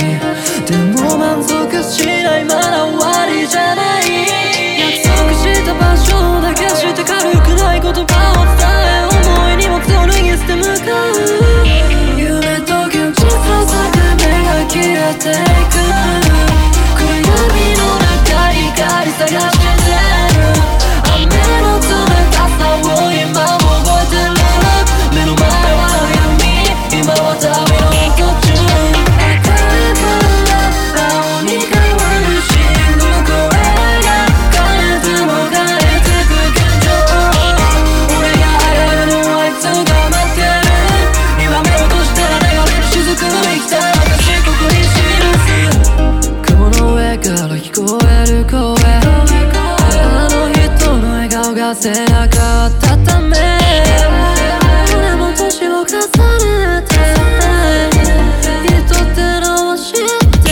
でも満足しないまだ終わりじゃない。約束した場所だけして軽くない言葉を伝え、思いにも手を脱ぎ捨て向かう。夢と現実の境目が消えていく。暗闇の中光探してる。雨の冷たさを今も覚えてる。目の前は闇、今は旅の途中。赤いから青に変わる信号、これが変えても変えてく現状。俺が会えるのはいつか待ってる。今目を閉じたら流れる雫の生きた証ここに記す。雲の上から聞こえる声、あの人の笑顔が背中をため、俺も年を重ねて人ってのを知って、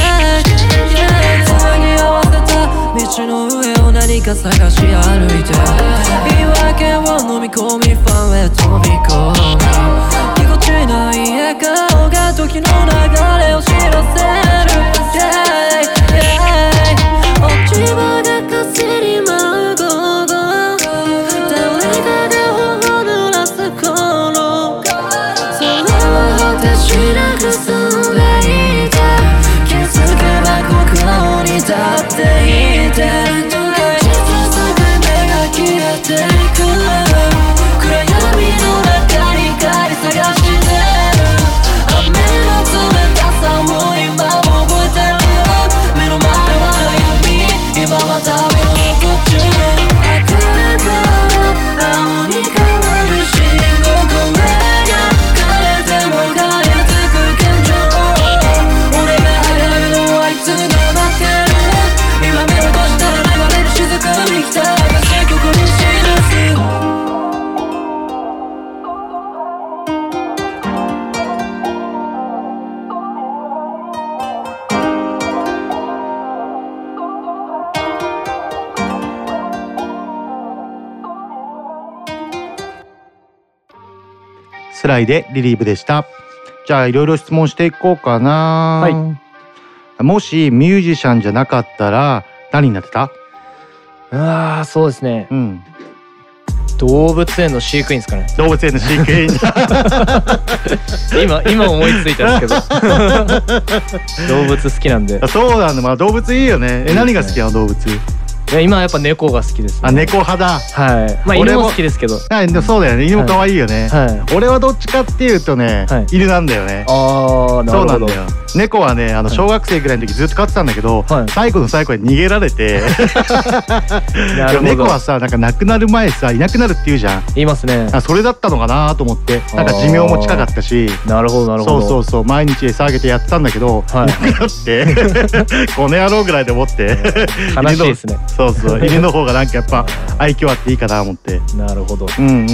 繋ぎ合わせた道の上を何か探し歩いて、言い訳を飲み込みファンへ飛び込む。ぎこちない笑顔が時の流れを知らせる。yeah, yeah、 落ち葉が風に舞う午後、誰かが頬を濡らす頃、それは果てしなく澄んでいて、気づけばここに立っていて、実の境目が消えていく。暗闇の中に光探してる。雨の冷たさも今も覚えてる。目の前は闇、今は旅の途中。赤いから青に変わる信号、これが変えても変えてく現状。俺が会えるのはいつか待ってる。今目を閉じたら流れる雫に来た証ここに記す。 スライでリリーブでした。じゃあいろいろ質問していこうかな。はい。もしミュージシャンじゃなかったら何になってた？ ああ、そうですね。 うん。 動物園の飼育員ですかね。 動物園の飼育員。 今今思いついたんですけど。動物好きなんで。 そうなんだ。まあ動物いいよね。え、何が好きなの動物？ いや、今はやっぱ猫が好きです、ね。 あ、猫派だ。 はい。まあ犬も好きですけど。 はい、でもそうだよね。犬も可愛いよね。はい。俺はどっちかっていうとね、はい、犬なんだよね。 ああ、なるほど。 そうなんだよ。猫はね、あの小学生ぐらいの時ずっと飼ってたんだけど、はい、最後の最後に逃げられて。なるほど。猫はさ、なんか亡くなる前さ、いなくなるって言うじゃん。 言いますね。 あ、それだったのかなと思って、なんか寿命も近かったし。 なるほどなるほど。 そうそうそう、毎日餌あげてやってたんだけど、はい、なくなって、この野郎ぐらいで思って。 悲しいですね。 そうそう、犬の方がなんかやっぱ愛嬌あっていいかなと思って。 なるほど。 うんうんうん。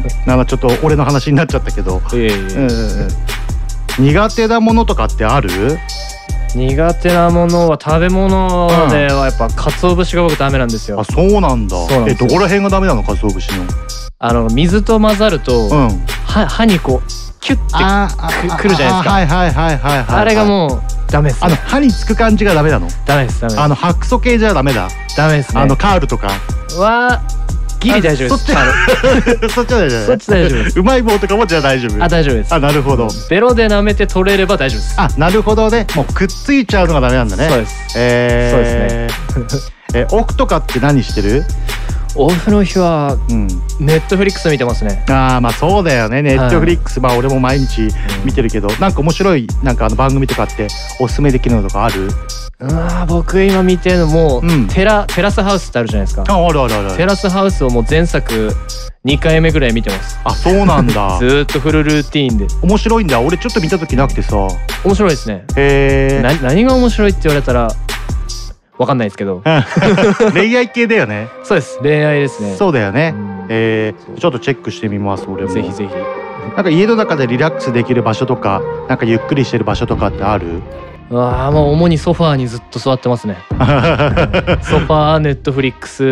なんかちょっと俺の話になっちゃったけど。ええ。うんうん。苦手なものとかってある？ 苦手なものは食べ物ではやっぱ鰹節が僕ダメなんですよ。 あ、そうなんだ。え、どこら辺がダメなの？鰹節の。 あの水と混ざると、うん、は歯にこうキュッてくるじゃないですか。 はいはいはいはいはい。 あれがもうダメです、ね。 あの歯につく感じがダメなの？ ダメですダメです。 あの白素系じゃダメだ。 ダメですね。 あのカールとかはギリ大丈夫です。 そっちそっちは大丈夫。 そっち大丈夫です。 うまい棒とかもじゃあ大丈夫。 あ、大丈夫です。 あ、なるほど。 ベロで舐めて取れれば大丈夫です。 あ、なるほどね。もうくっついちゃうのがダメなんだね。 そうです。 えー、そうですね。え、オフとかって何してる？ オフの日はネットフリックス見てますね。 ああ、まあそうだよね。ネットフリックス、まあ俺も毎日見てるけど、なんか面白いなんかあの番組とかっておすすめできるのとかある？ あ、僕今見てるのも、うん、テラテラスハウスってあるじゃないですか。 あ、あるあるある。 テラスハウスをもう前作にかいめぐらい見てます。 あ、そうなんだ。 ずーっとフルルーティーンで。 面白いんだ。俺ちょっと見た時なくてさ。 面白いですね。 へえ。 な何が面白いって言われたらわかんないですけど。 恋愛系だよね。 そうです。恋愛ですね。 そうだよね。えー、ちょっとチェックしてみます。俺も。 ぜひぜひ。 なんか家の中でリラックスできる場所とか、なんかゆっくりしてる場所とかってある？ ああ、もう主にソファーにずっと座ってますね。ソファー、ネットフリックス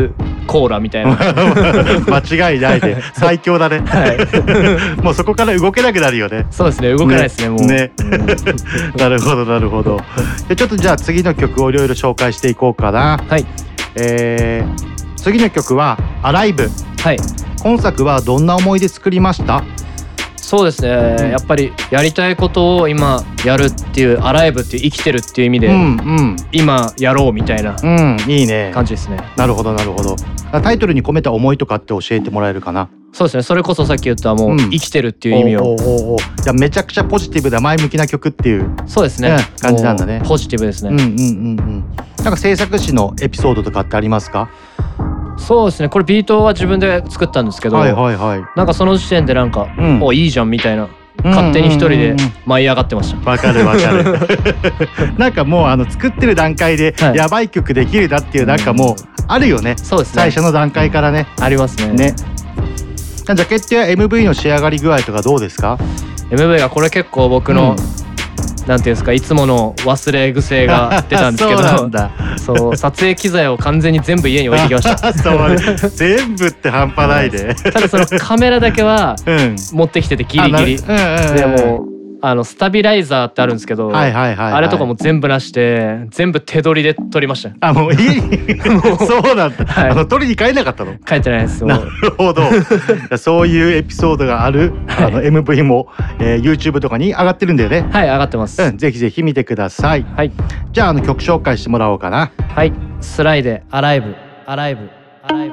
コーラみたいな間違いないで最強だね、はい、もうそこから動けなくなるよね。 そうですね、動けないですね、もうねなるほどなるほど。でちょっとじゃあ次の曲をいろいろ紹介していこうかな。 はい、 えー、次の曲はアライブ。 はい、 今作はどんな思いで作りました？ そうですね、うん、やっぱりやりたいことを今やるっていう、アライブっていう生きてるっていう意味で、うんうん、今やろうみたいな感じですね、 うん、いいね。なるほどなるほど。タイトルに込めた思いとかって教えてもらえるかな？ そうですね、それこそさっき言ったもう、うん、生きてるっていう意味を。おーおーおー、じゃあめちゃくちゃポジティブで前向きな曲っていう。 そうですね、 ね、感じなんだね。 ポジティブですね。 うんうんうんうん。なんか制作時のエピソードとかってありますか？ そうですね、これビートは自分で作ったんですけど、はいはいはい、なんかその時点でなんか、うん、おいいじゃんみたいな、勝手に一人で舞い上がってました。 わかるわかるなんかもうあの作ってる段階でやばい曲できるなっていう、なんかもうあるよね。 そうですね、 最初の段階からね、 ありますね。 ね、ジャケットや エムブイ の仕上がり具合とかどうですか？ エムブイ がこれ結構僕の、うんなんていうんですか、いつもの忘れ癖が出たんですけどそうなんだそう、撮影機材を完全に全部家に置いてきましたそう全部って半端ないでただそのカメラだけは持ってきててギリギリ、うん、でもあのスタビライザーってあるんですけど、はいはいはいはい、あれとかも全部なして全部手取りで撮りました。 あ、もういいそうなんだ、はい、あの撮りに帰んなかったの？ 帰ってないです。 なるほどそういうエピソードがある、はい、あの エムブイ も、えー、YouTube とかに上がってるんだよね。 はい、上がってます、 うん、ぜひぜひ見てください。 はい、 じゃあ、あの曲紹介してもらおうかな。 はい、スライでアライブアライブアライブ。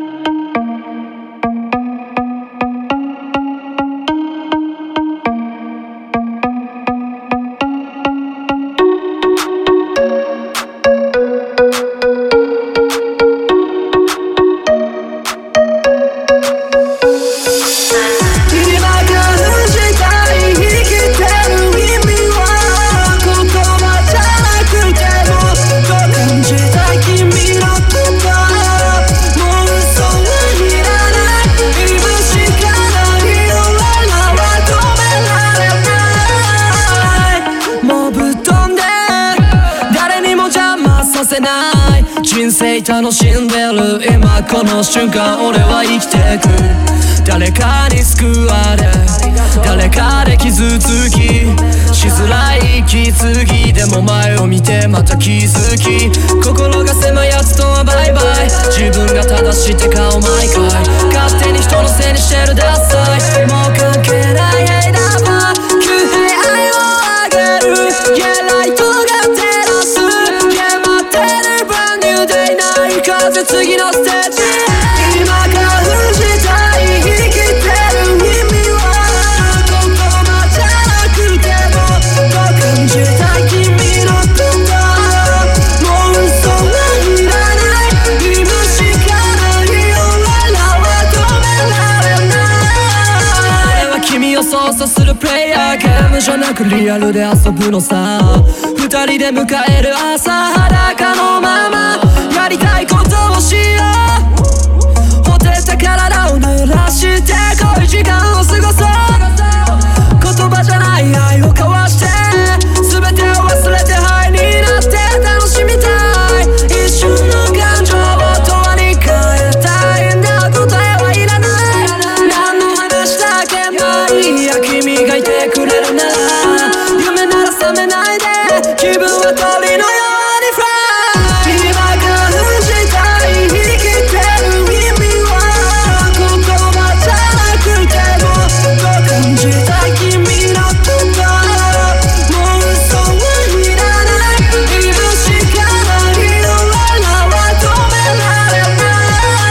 人生楽しんでる今この瞬間、俺は生きてく。誰かに救われ、誰かで傷つき、しづらい息継ぎでも前を見てまた気づき、心が狭いやつとはバイバイ、自分が正しいって顔毎回勝手に人のせいにしてるダサい、もう関係ないヘイダーバー急平愛をあげる、yeahライトが照らす、yeah待ってる風次のステージ、今からしたい生きてる意味は言葉じゃなくてもと感じたい君のこと、もう嘘はいらない、今しかない俺らは止められない、俺は君を操作するプレイヤー、ゲームじゃなくリアルで遊ぶのさ、二人で迎える朝裸のままやりたいことをしよう、ほてった体を濡らして濃い時間を過ごそう、言葉じゃない愛を交わして全てを忘れてハイになって楽しみたい、一瞬の感情を永遠に変えたいんだ、答えはいらない、何の話だけまあいいや、君がいてくれるなら夢なら覚めないで、気分は鳥のようにフライ、今からしたい生きてる意味は言葉じゃなくてもと感じたい君のこと、もう嘘はいらない、今しかない俺らは止められない。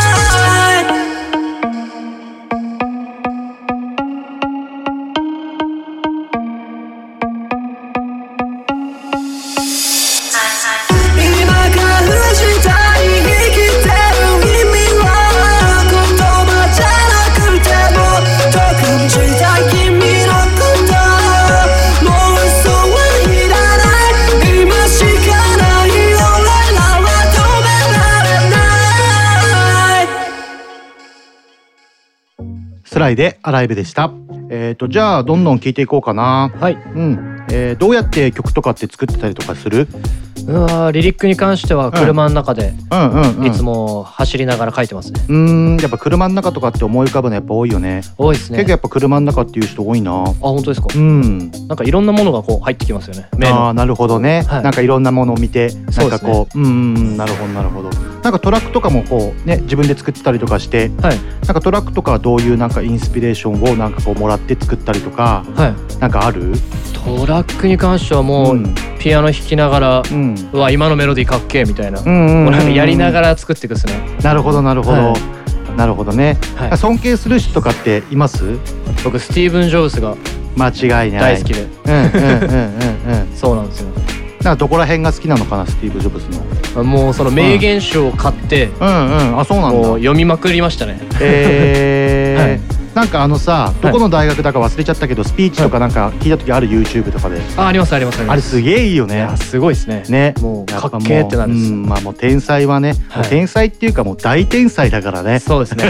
今からしたい生きてる意味は言葉じゃなくてもと感じたい君のこと、もう嘘はいらない、今しかない俺らは止められない。 スライでアライブでした。えーとじゃあどんどん聞いていこうかな。 はい、 うん、えー、どうやって曲とかって作ってたりとかする？ うわリリックに関しては車の中でいつも走りながら書いてますね。 うーんやっぱ車の中とかって思い浮かぶのやっぱ多いよね。 多いですね。 結構やっぱ車の中っていう人多いな。あ本当ですか。 うんなんかいろんなものがこう入ってきますよね。 ああなるほどね、はい、なんかいろんなものを見てなんかこう、う、ね、うんなるほどなるほど。なんかトラックとかもこうね自分で作ってたりとかして、はい、なんかトラックとかはどういうなんかインスピレーションをなんかこうもらって作ったりとか、はい、なんかある？ トラックに関してはもう、うん、ピアノ弾きながら、うん、うわ今のメロディーかっけえみたいな、うんうんうんうん、なんかやりながら作っていくですね。 なるほどなるほど、はい、なるほどね、はい、尊敬する人とかっています？ 僕スティーブン・ジョブズが間違いない大好きで、 うんうんうんうんうんそうなんですよ。 なんかどこら辺が好きなのかなスティーブ・ジョブズの。 もうその名言集を買って、うん、うんうんあそうなんだ。もう読みまくりましたね。 えーはいなんかあのさどこの大学だか忘れちゃったけどスピーチとかなんか聞いた時ある YouTube とかで。 あありますありますあります。 あれすげえいいよね。 いやすごいですね。 ねもうかっけーってなるんです。 まあもう天才はね、はい、天才っていうかもう大天才だからね。 そうですね。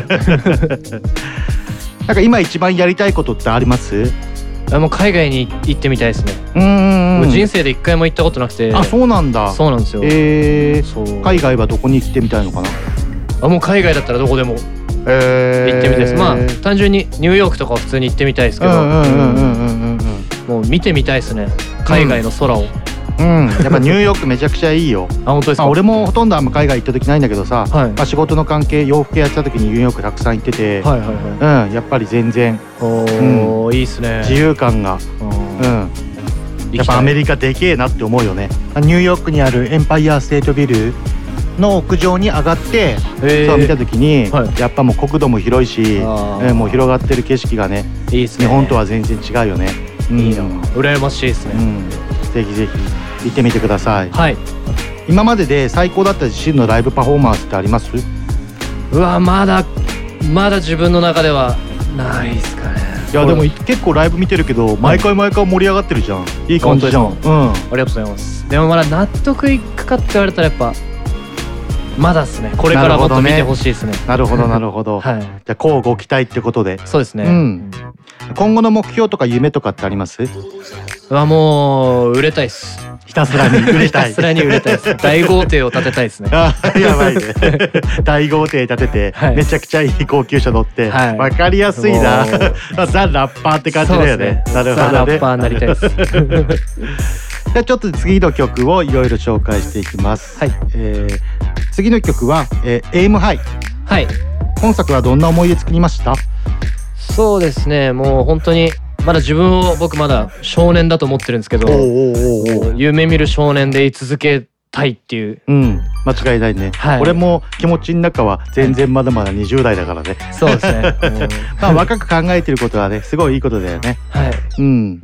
なんか今一番やりたいことってあります？ もう海外に行ってみたいですね。 うんうんうん。 人生で一回も行ったことなくて。 あそうなんだ。 そうなんですよ。 えー、そう海外はどこに行ってみたいのかな？ あもう海外だったらどこでも。えー、行ってみたいです。まあ単純にニューヨークとかは普通に行ってみたいですけど、もう見てみたいですね海外の空を。 うん、やっぱニューヨークめちゃくちゃいいよ。 あ本当ですか。 まあ、俺もほとんどあんま海外行った時ないんだけどさ、はいまあ、仕事の関係洋服やってた時にニューヨークたくさん行ってて、はいはいはいうん、やっぱり全然お、うん、いいっすね自由感が、うん、やっぱアメリカでけえなって思うよね。ニューヨークにあるエンパイアステートビルの屋上に上がってそう見た時に、はい、やっぱもう国土も広いし、えー、もう広がってる景色がねいいっすね。 日本とは全然違うよね。 いいな、うん、羨ましいですね、うん、 ぜひぜひ行ってみてください。 はい今までで最高だった自身のライブパフォーマンスってあります？ うわまだまだ自分の中ではないですかね。 いやでも結構ライブ見てるけど毎回毎回盛り上がってるじゃん。いい感じじゃん。うんありがとうございます。でもまだ納得いくかって言われたらやっぱまだですね。これからもっと見てほしいですね。 なるほどなるほど。はい、じゃあこうご期待ってことで。 そうですね、 うん、今後の目標とか夢とかってあります？ はもう売れたいです。 ひたすらに売れたい。 ひたすらに売れたいです。大豪邸を建てたいですね。 あやばいね。大豪邸建てて、はい、めちゃくちゃいい高級車乗って、はい、分かりやすいな。ザ・ラッパーって感じだよね。なるほどね。ザ・ラッパーになりたいです。 じゃあちょっと次の曲をいろいろ紹介していきます。はい。えー、次の曲は、えー、エイムハイ。 はい。 今作はどんな思い出作りました？ そうですね。もう本当にまだ自分を僕まだ少年だと思ってるんですけど、夢見る少年で居続けたいっていう。 うん。間違いないね。はい、俺も気持ちの中は全然まだまだにじゅう代だからね。 そうですね。 まあ若く考えてることはねすごいいいことだよね。 はい。 うん。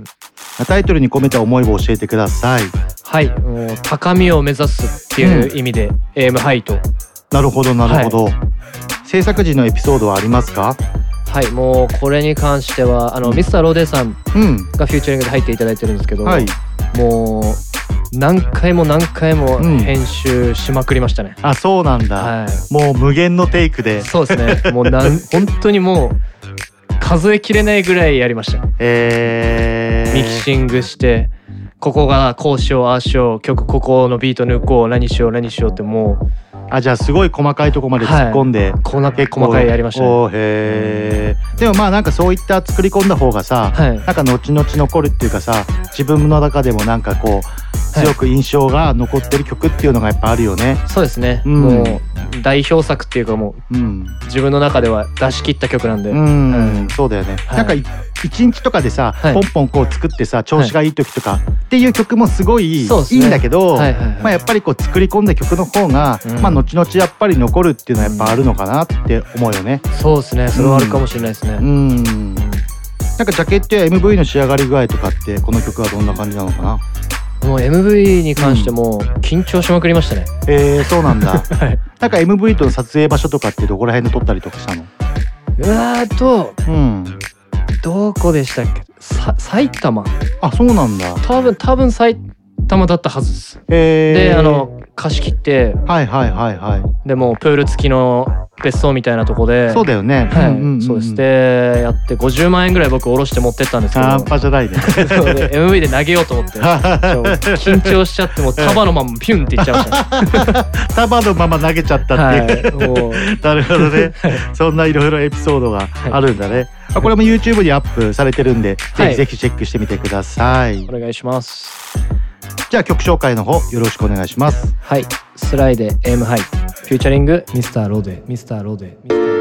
タイトルに込めた思いを教えてください。 はい。もう高みを目指すっていう意味で、うん、エイムハイと。 なるほどなるほど。はい、制作時のエピソードはありますか？ はい、もうこれに関してはあの、うん、ミスターローデーさんがフューチャリングで入っていただいてるんですけど、はい、もう何回も何回も編集しまくりましたね。 うん、あ、そうなんだ。はい、もう無限のテイクで。 そうですね。もうなん本当にもう数えきれないぐらいやりました。 えー、 ミキシングしてここがこうしようああしよう曲ここのビート抜こう何しよう何しようってもう。 あ、じゃあすごい細かいところまで突っ込んで、 はい、こんな結構細かいやりましたね。 おへー。でもまあなんかそういった作り込んだ方がさ、はい、なんか後々残るっていうかさ、自分の中でもなんかこう強く印象が残ってる曲っていうのがやっぱあるよね。 そうですね、うん、もう代表作っていうかもう、うん、自分の中では出し切った曲なんで、うん、 うん、そうだよね、はい、なんか一日とかでさ、はい、ポンポンこう作ってさ調子がいい時とかっていう曲もすごいいいんだけど、はいはいはい、まあやっぱりこう作り込んだ曲の方が、うん、まあ後々やっぱり残るっていうのはやっぱあるのかなって思うよね。 そうですね、それはあるかもしれないですね。 うん、うん、なんかジャケットや エムブイ の仕上がり具合とかってこの曲はどんな感じなのかな。 もう エムブイ に関しても緊張しまくりましたね。 うん、えー、そうなんだ。はい、なんか エムブイ との撮影場所とかってどこら辺で撮ったりとかしたの？ うわーと、うん、どこでしたっけ？さ埼玉。 あ、そうなんだ。 多分多分埼玉だったはずです。 えー、 で、あの貸し切って、 はいはいはいはい。 でもプール付きの別荘みたいなとこで、 そうだよね。 はい、 うんうんうん、 そうです。でやってごじゅうまんえんぐらい僕下ろして持ってったんですけど、 半端じゃないね。 そうで エムブイ で投げようと思って緊張しちゃってもう束のままピュンっていっちゃいました。 束のまま投げちゃったっていう、はい、もうなるほどね。そんないろいろエピソードがあるんだね。はい、これも YouTube にアップされてるんで、はい、ぜひぜひチェックしてみてください。 お願いします。 じゃあ曲紹介の方よろしくお願いします。 はい、スライで エム ハイフューチャリングミスターロデミスターロデミスター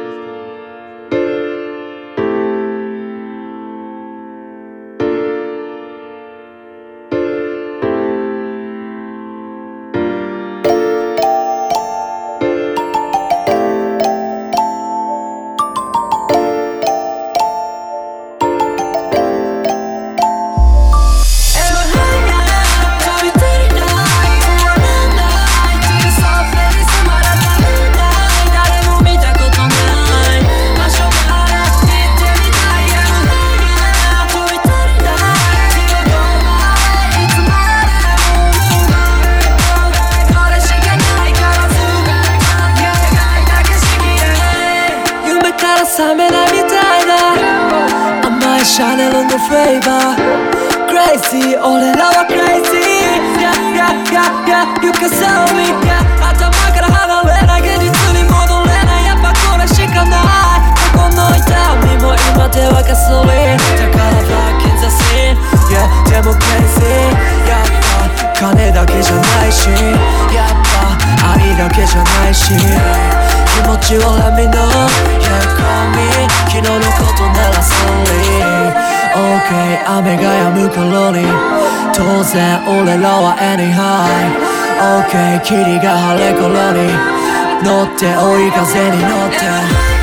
シャネルのフレーバー Crazy 俺らは Crazy Yeah yeah yeah yeah You can sell me Yeah 頭から離れない現実に戻れないやっぱこれしかないここの痛みも今ではガソリンだから Back in the scene Yeah でも Crazy やっぱ金だけじゃないしやっぱ愛だけじゃないし気持ちを Let me know Yeah call me 昨日のことなら Sorry OK 雨が止む頃に当然俺らは Anyhow OK 霧が晴れ頃に乗って追い風に乗って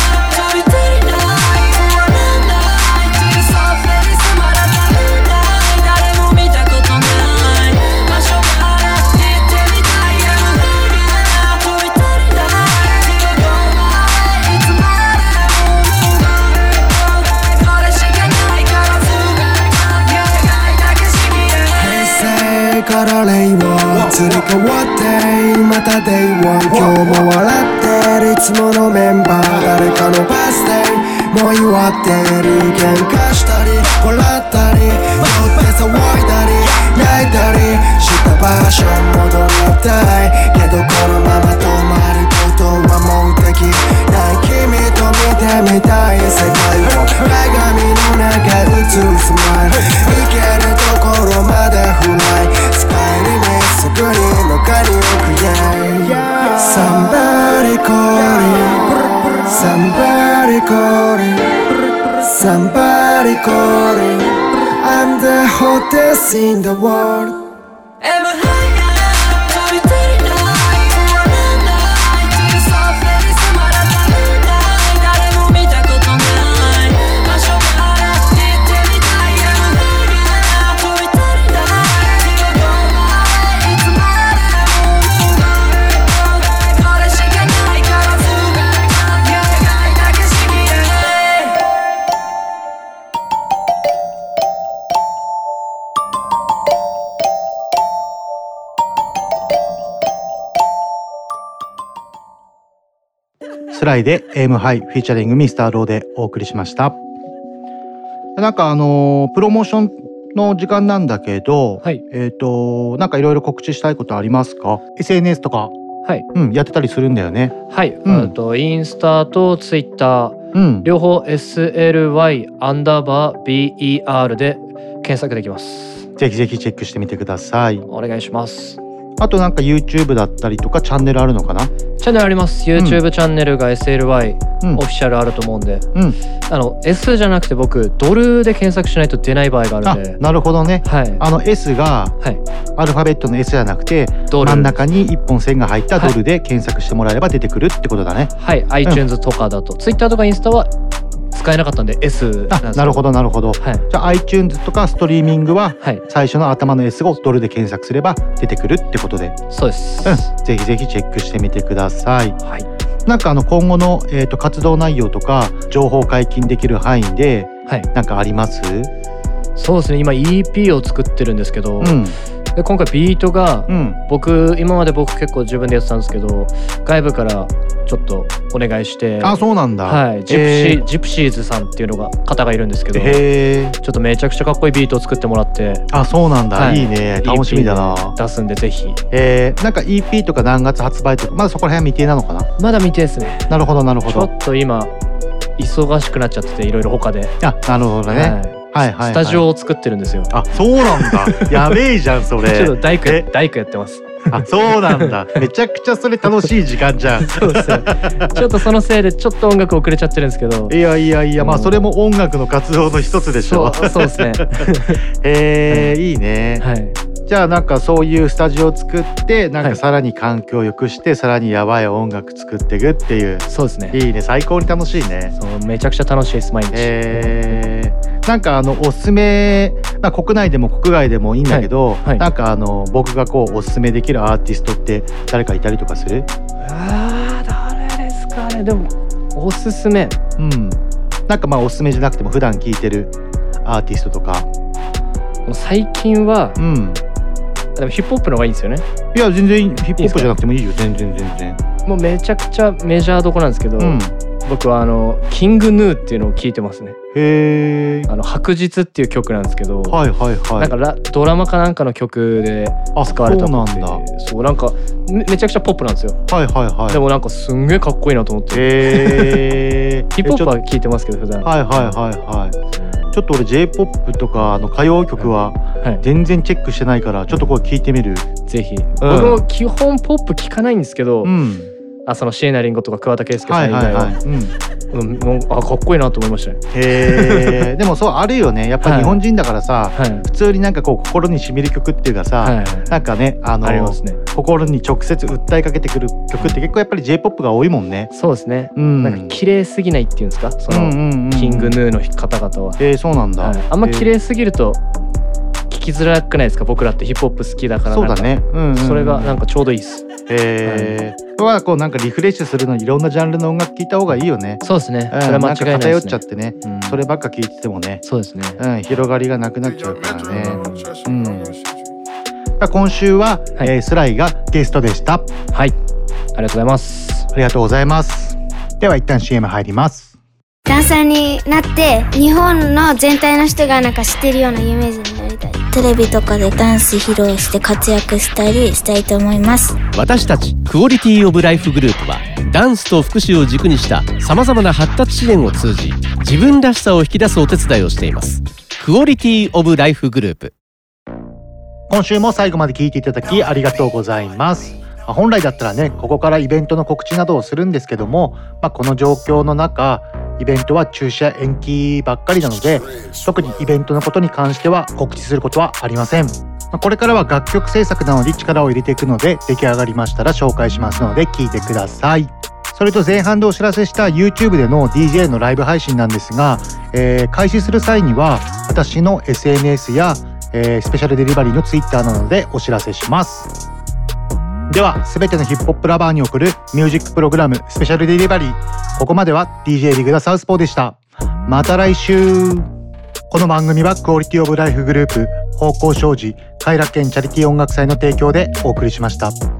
から令和移り変わってまた デイワン 今日も笑ってるいつものメンバー誰かのバースデーもう祝ってる喧嘩したり笑ったり酔って騒いだり泣いたりした場所戻りたいけどこのまま止まることはもうできない君と見てみたい世界を鏡の中映るスマイルいけるところまでフライスカイにすぐに中に置く yeah Somebody calling Somebody calling Somebody calling I'm the hottest in the world スライで エム ハイフィーチャリングミスターローでお送りしました。なんかあのー、プロモーションの時間なんだけど、はい、えっとなんかいろいろ告知したいことありますか？ エスエヌエス とか、はい、うん、やってたりするんだよね。 はい、うん、とインスタとツイッター、うん、両方 エスエルワイ アンダーバー ビーイーアール で検索できます。 ぜひぜひチェックしてみてください。 お願いします。 あとなんか YouTube だったりとかチャンネルあるのかな？ チャンネルあります。 YouTube、うん、チャンネルが エスエルワイ、うん、オフィシャルあると思うんで、うん、あの S じゃなくて僕ドルで検索しないと出ない場合があるんで。 あ、なるほどね、はい、あの S がアルファベットの S じゃなくて、はい、真ん中に一本線が入ったドルで検索してもらえれば出てくるってことだね。 はい、うん、iTunes とかだと Twitter とかインスタは使えなかったんで S なんです。 あ、なるほどなるほど、はい、じゃあ iTunes とかストリーミングは最初の頭の S をドルで検索すれば出てくるってことで。 そうです、 うん、ぜひぜひチェックしてみてください。はい、なんかあの今後の、えーと、活動内容とか情報解禁できる範囲でなんかあります？ そうですね、今 イーピー を作ってるんですけど、うん、 で今回ビートが、うん、僕今まで僕結構自分でやってたんですけど、外部からちょっとお願いして。 あ、そうなんだ。 はい、ジプシー、ジプシーズさんっていうのが方がいるんですけど、へー、ちょっとめちゃくちゃかっこいいビートを作ってもらって。 あ、そうなんだ、はい、いいね、楽しみだな。 出すんでぜひ。 えー、なんか イーピー とか何月発売とかまだそこら辺は未定なのかな。 まだ未定ですね。 なるほどなるほど。 ちょっと今忙しくなっちゃってて、いろいろ他で。 あ、なるほどね、はいはいはいはい、 スタジオを作ってるんですよ。 あ、そうなんだ。やべえじゃんそれ。 ちょっと大工大工やってます。 あ、そうなんだ。めちゃくちゃそれ楽しい時間じゃん。 そうですよ。ちょっとそのせいでちょっと音楽遅れちゃってるんですけど。 いやいやいや、まあそれも音楽の活動の一つでしょ。 そう、そうですね。 えー、いいね。 はい。 じゃあなんかそういうスタジオを作ってなんかさらに環境を良くしてさらにやばい音楽作っていくっていう。 そうですね。 いいね、最高に楽しいね。 そう、めちゃくちゃ楽しいです毎日。 えー、なんかあのおすすめ、まあ、国内でも国外でもいいんだけど、はいはい、なんかあの僕がこうおすすめできるアーティストって誰かいたりとかする？ あー、誰ですかね。でもおすすめ、 うん、なんかまあおすすめじゃなくても普段聴いてるアーティストとか。 最近は、うん、でもヒップホップの方がいいんですよね。 いや全然ヒップホップじゃなくてもいいよ。全然全然。 もうめちゃくちゃメジャーどこなんですけど、うん、僕はあのキングヌーっていうのを聞いてますね。 へー。 あの白日っていう曲なんですけど、 はいはいはい。 なんかラドラマかなんかの曲で使われたので、そうなんだ。そう、なんか め, めちゃくちゃポップなんですよ。 はいはいはい。 でもなんかすんげえかっこいいなと思って。 へー。 ヒップホップは聞いてますけど普段。 はいはいはいはい。ちょっと俺 J-ポップ とかあの歌謡曲は全然チェックしてないからちょっとこれ聞いてみる。 ぜひ、うん、僕も基本ポップ聞かないんですけど、うん、あその椎名林檎とか桑田佳祐さん以外は、うんうん、あかっこいいなと思いましたね。 へー。でもそうあるよね、やっぱり日本人だからさ、はい、普通になんかこう心にしみる曲っていうかさ、はいはい、なんかねあのありますね、 心に直接訴えかけてくる曲って結構やっぱり J-ポップ が多いもんね。 そうですね、うん、なんか綺麗すぎないっていうんですか、その、うんうんうん、キングヌーの方々は。 えー、そうなんだ、はい、 あんま綺麗すぎると聞きづらくないですか。僕らってヒップホップ好きだから。 そうだね、うんうんうん、 それがなんかちょうどいいです。 えー、はい、こうなんかリフレッシュするのにいろんなジャンルの音楽聴いた方がいいよね。 そうですね、 うん、それは間違いないですね。なんか偏っちゃってね、うん、そればっか聴いててもね、 そうですね、 うん、広がりがなくなっちゃうからね、うん、今週は、はい、えー、スライがゲストでした。 はい、ありがとうございます。 ありがとうございます。では一旦 シーエム 入ります。 ダンサーになって日本の全体の人がなんか知ってるような有名人になりたい。 テレビとかでダンス披露して活躍したりしたいと思います。 私たちクオリティオブライフグループはダンスと福祉を軸にしたさまざまな発達支援を通じ自分らしさを引き出すお手伝いをしています。クオリティオブライフグループ。 今週も最後まで聞いていただきありがとうございます。本来だったらねここからイベントの告知などをするんですけども、まあ、この状況の中イベントは中止や延期ばっかりなので特にイベントのことに関しては告知することはありません。これからは楽曲制作などに力を入れていくので出来上がりましたら紹介しますので聞いてください。それと前半でお知らせした YouTube での ディージェー のライブ配信なんですが、えー、開始する際には私の エスエヌエス や、えー、スペシャルデリバリーの Twitter などでお知らせします。ではすべてのヒップホップラバーに送るミュージックプログラムスペシャルデリバリー、ここまでは ディージェー リグダサウスポーでした。また来週。この番組はクオリティオブライフグループ、方向障子、快楽園チャリティー音楽祭の提供でお送りしました。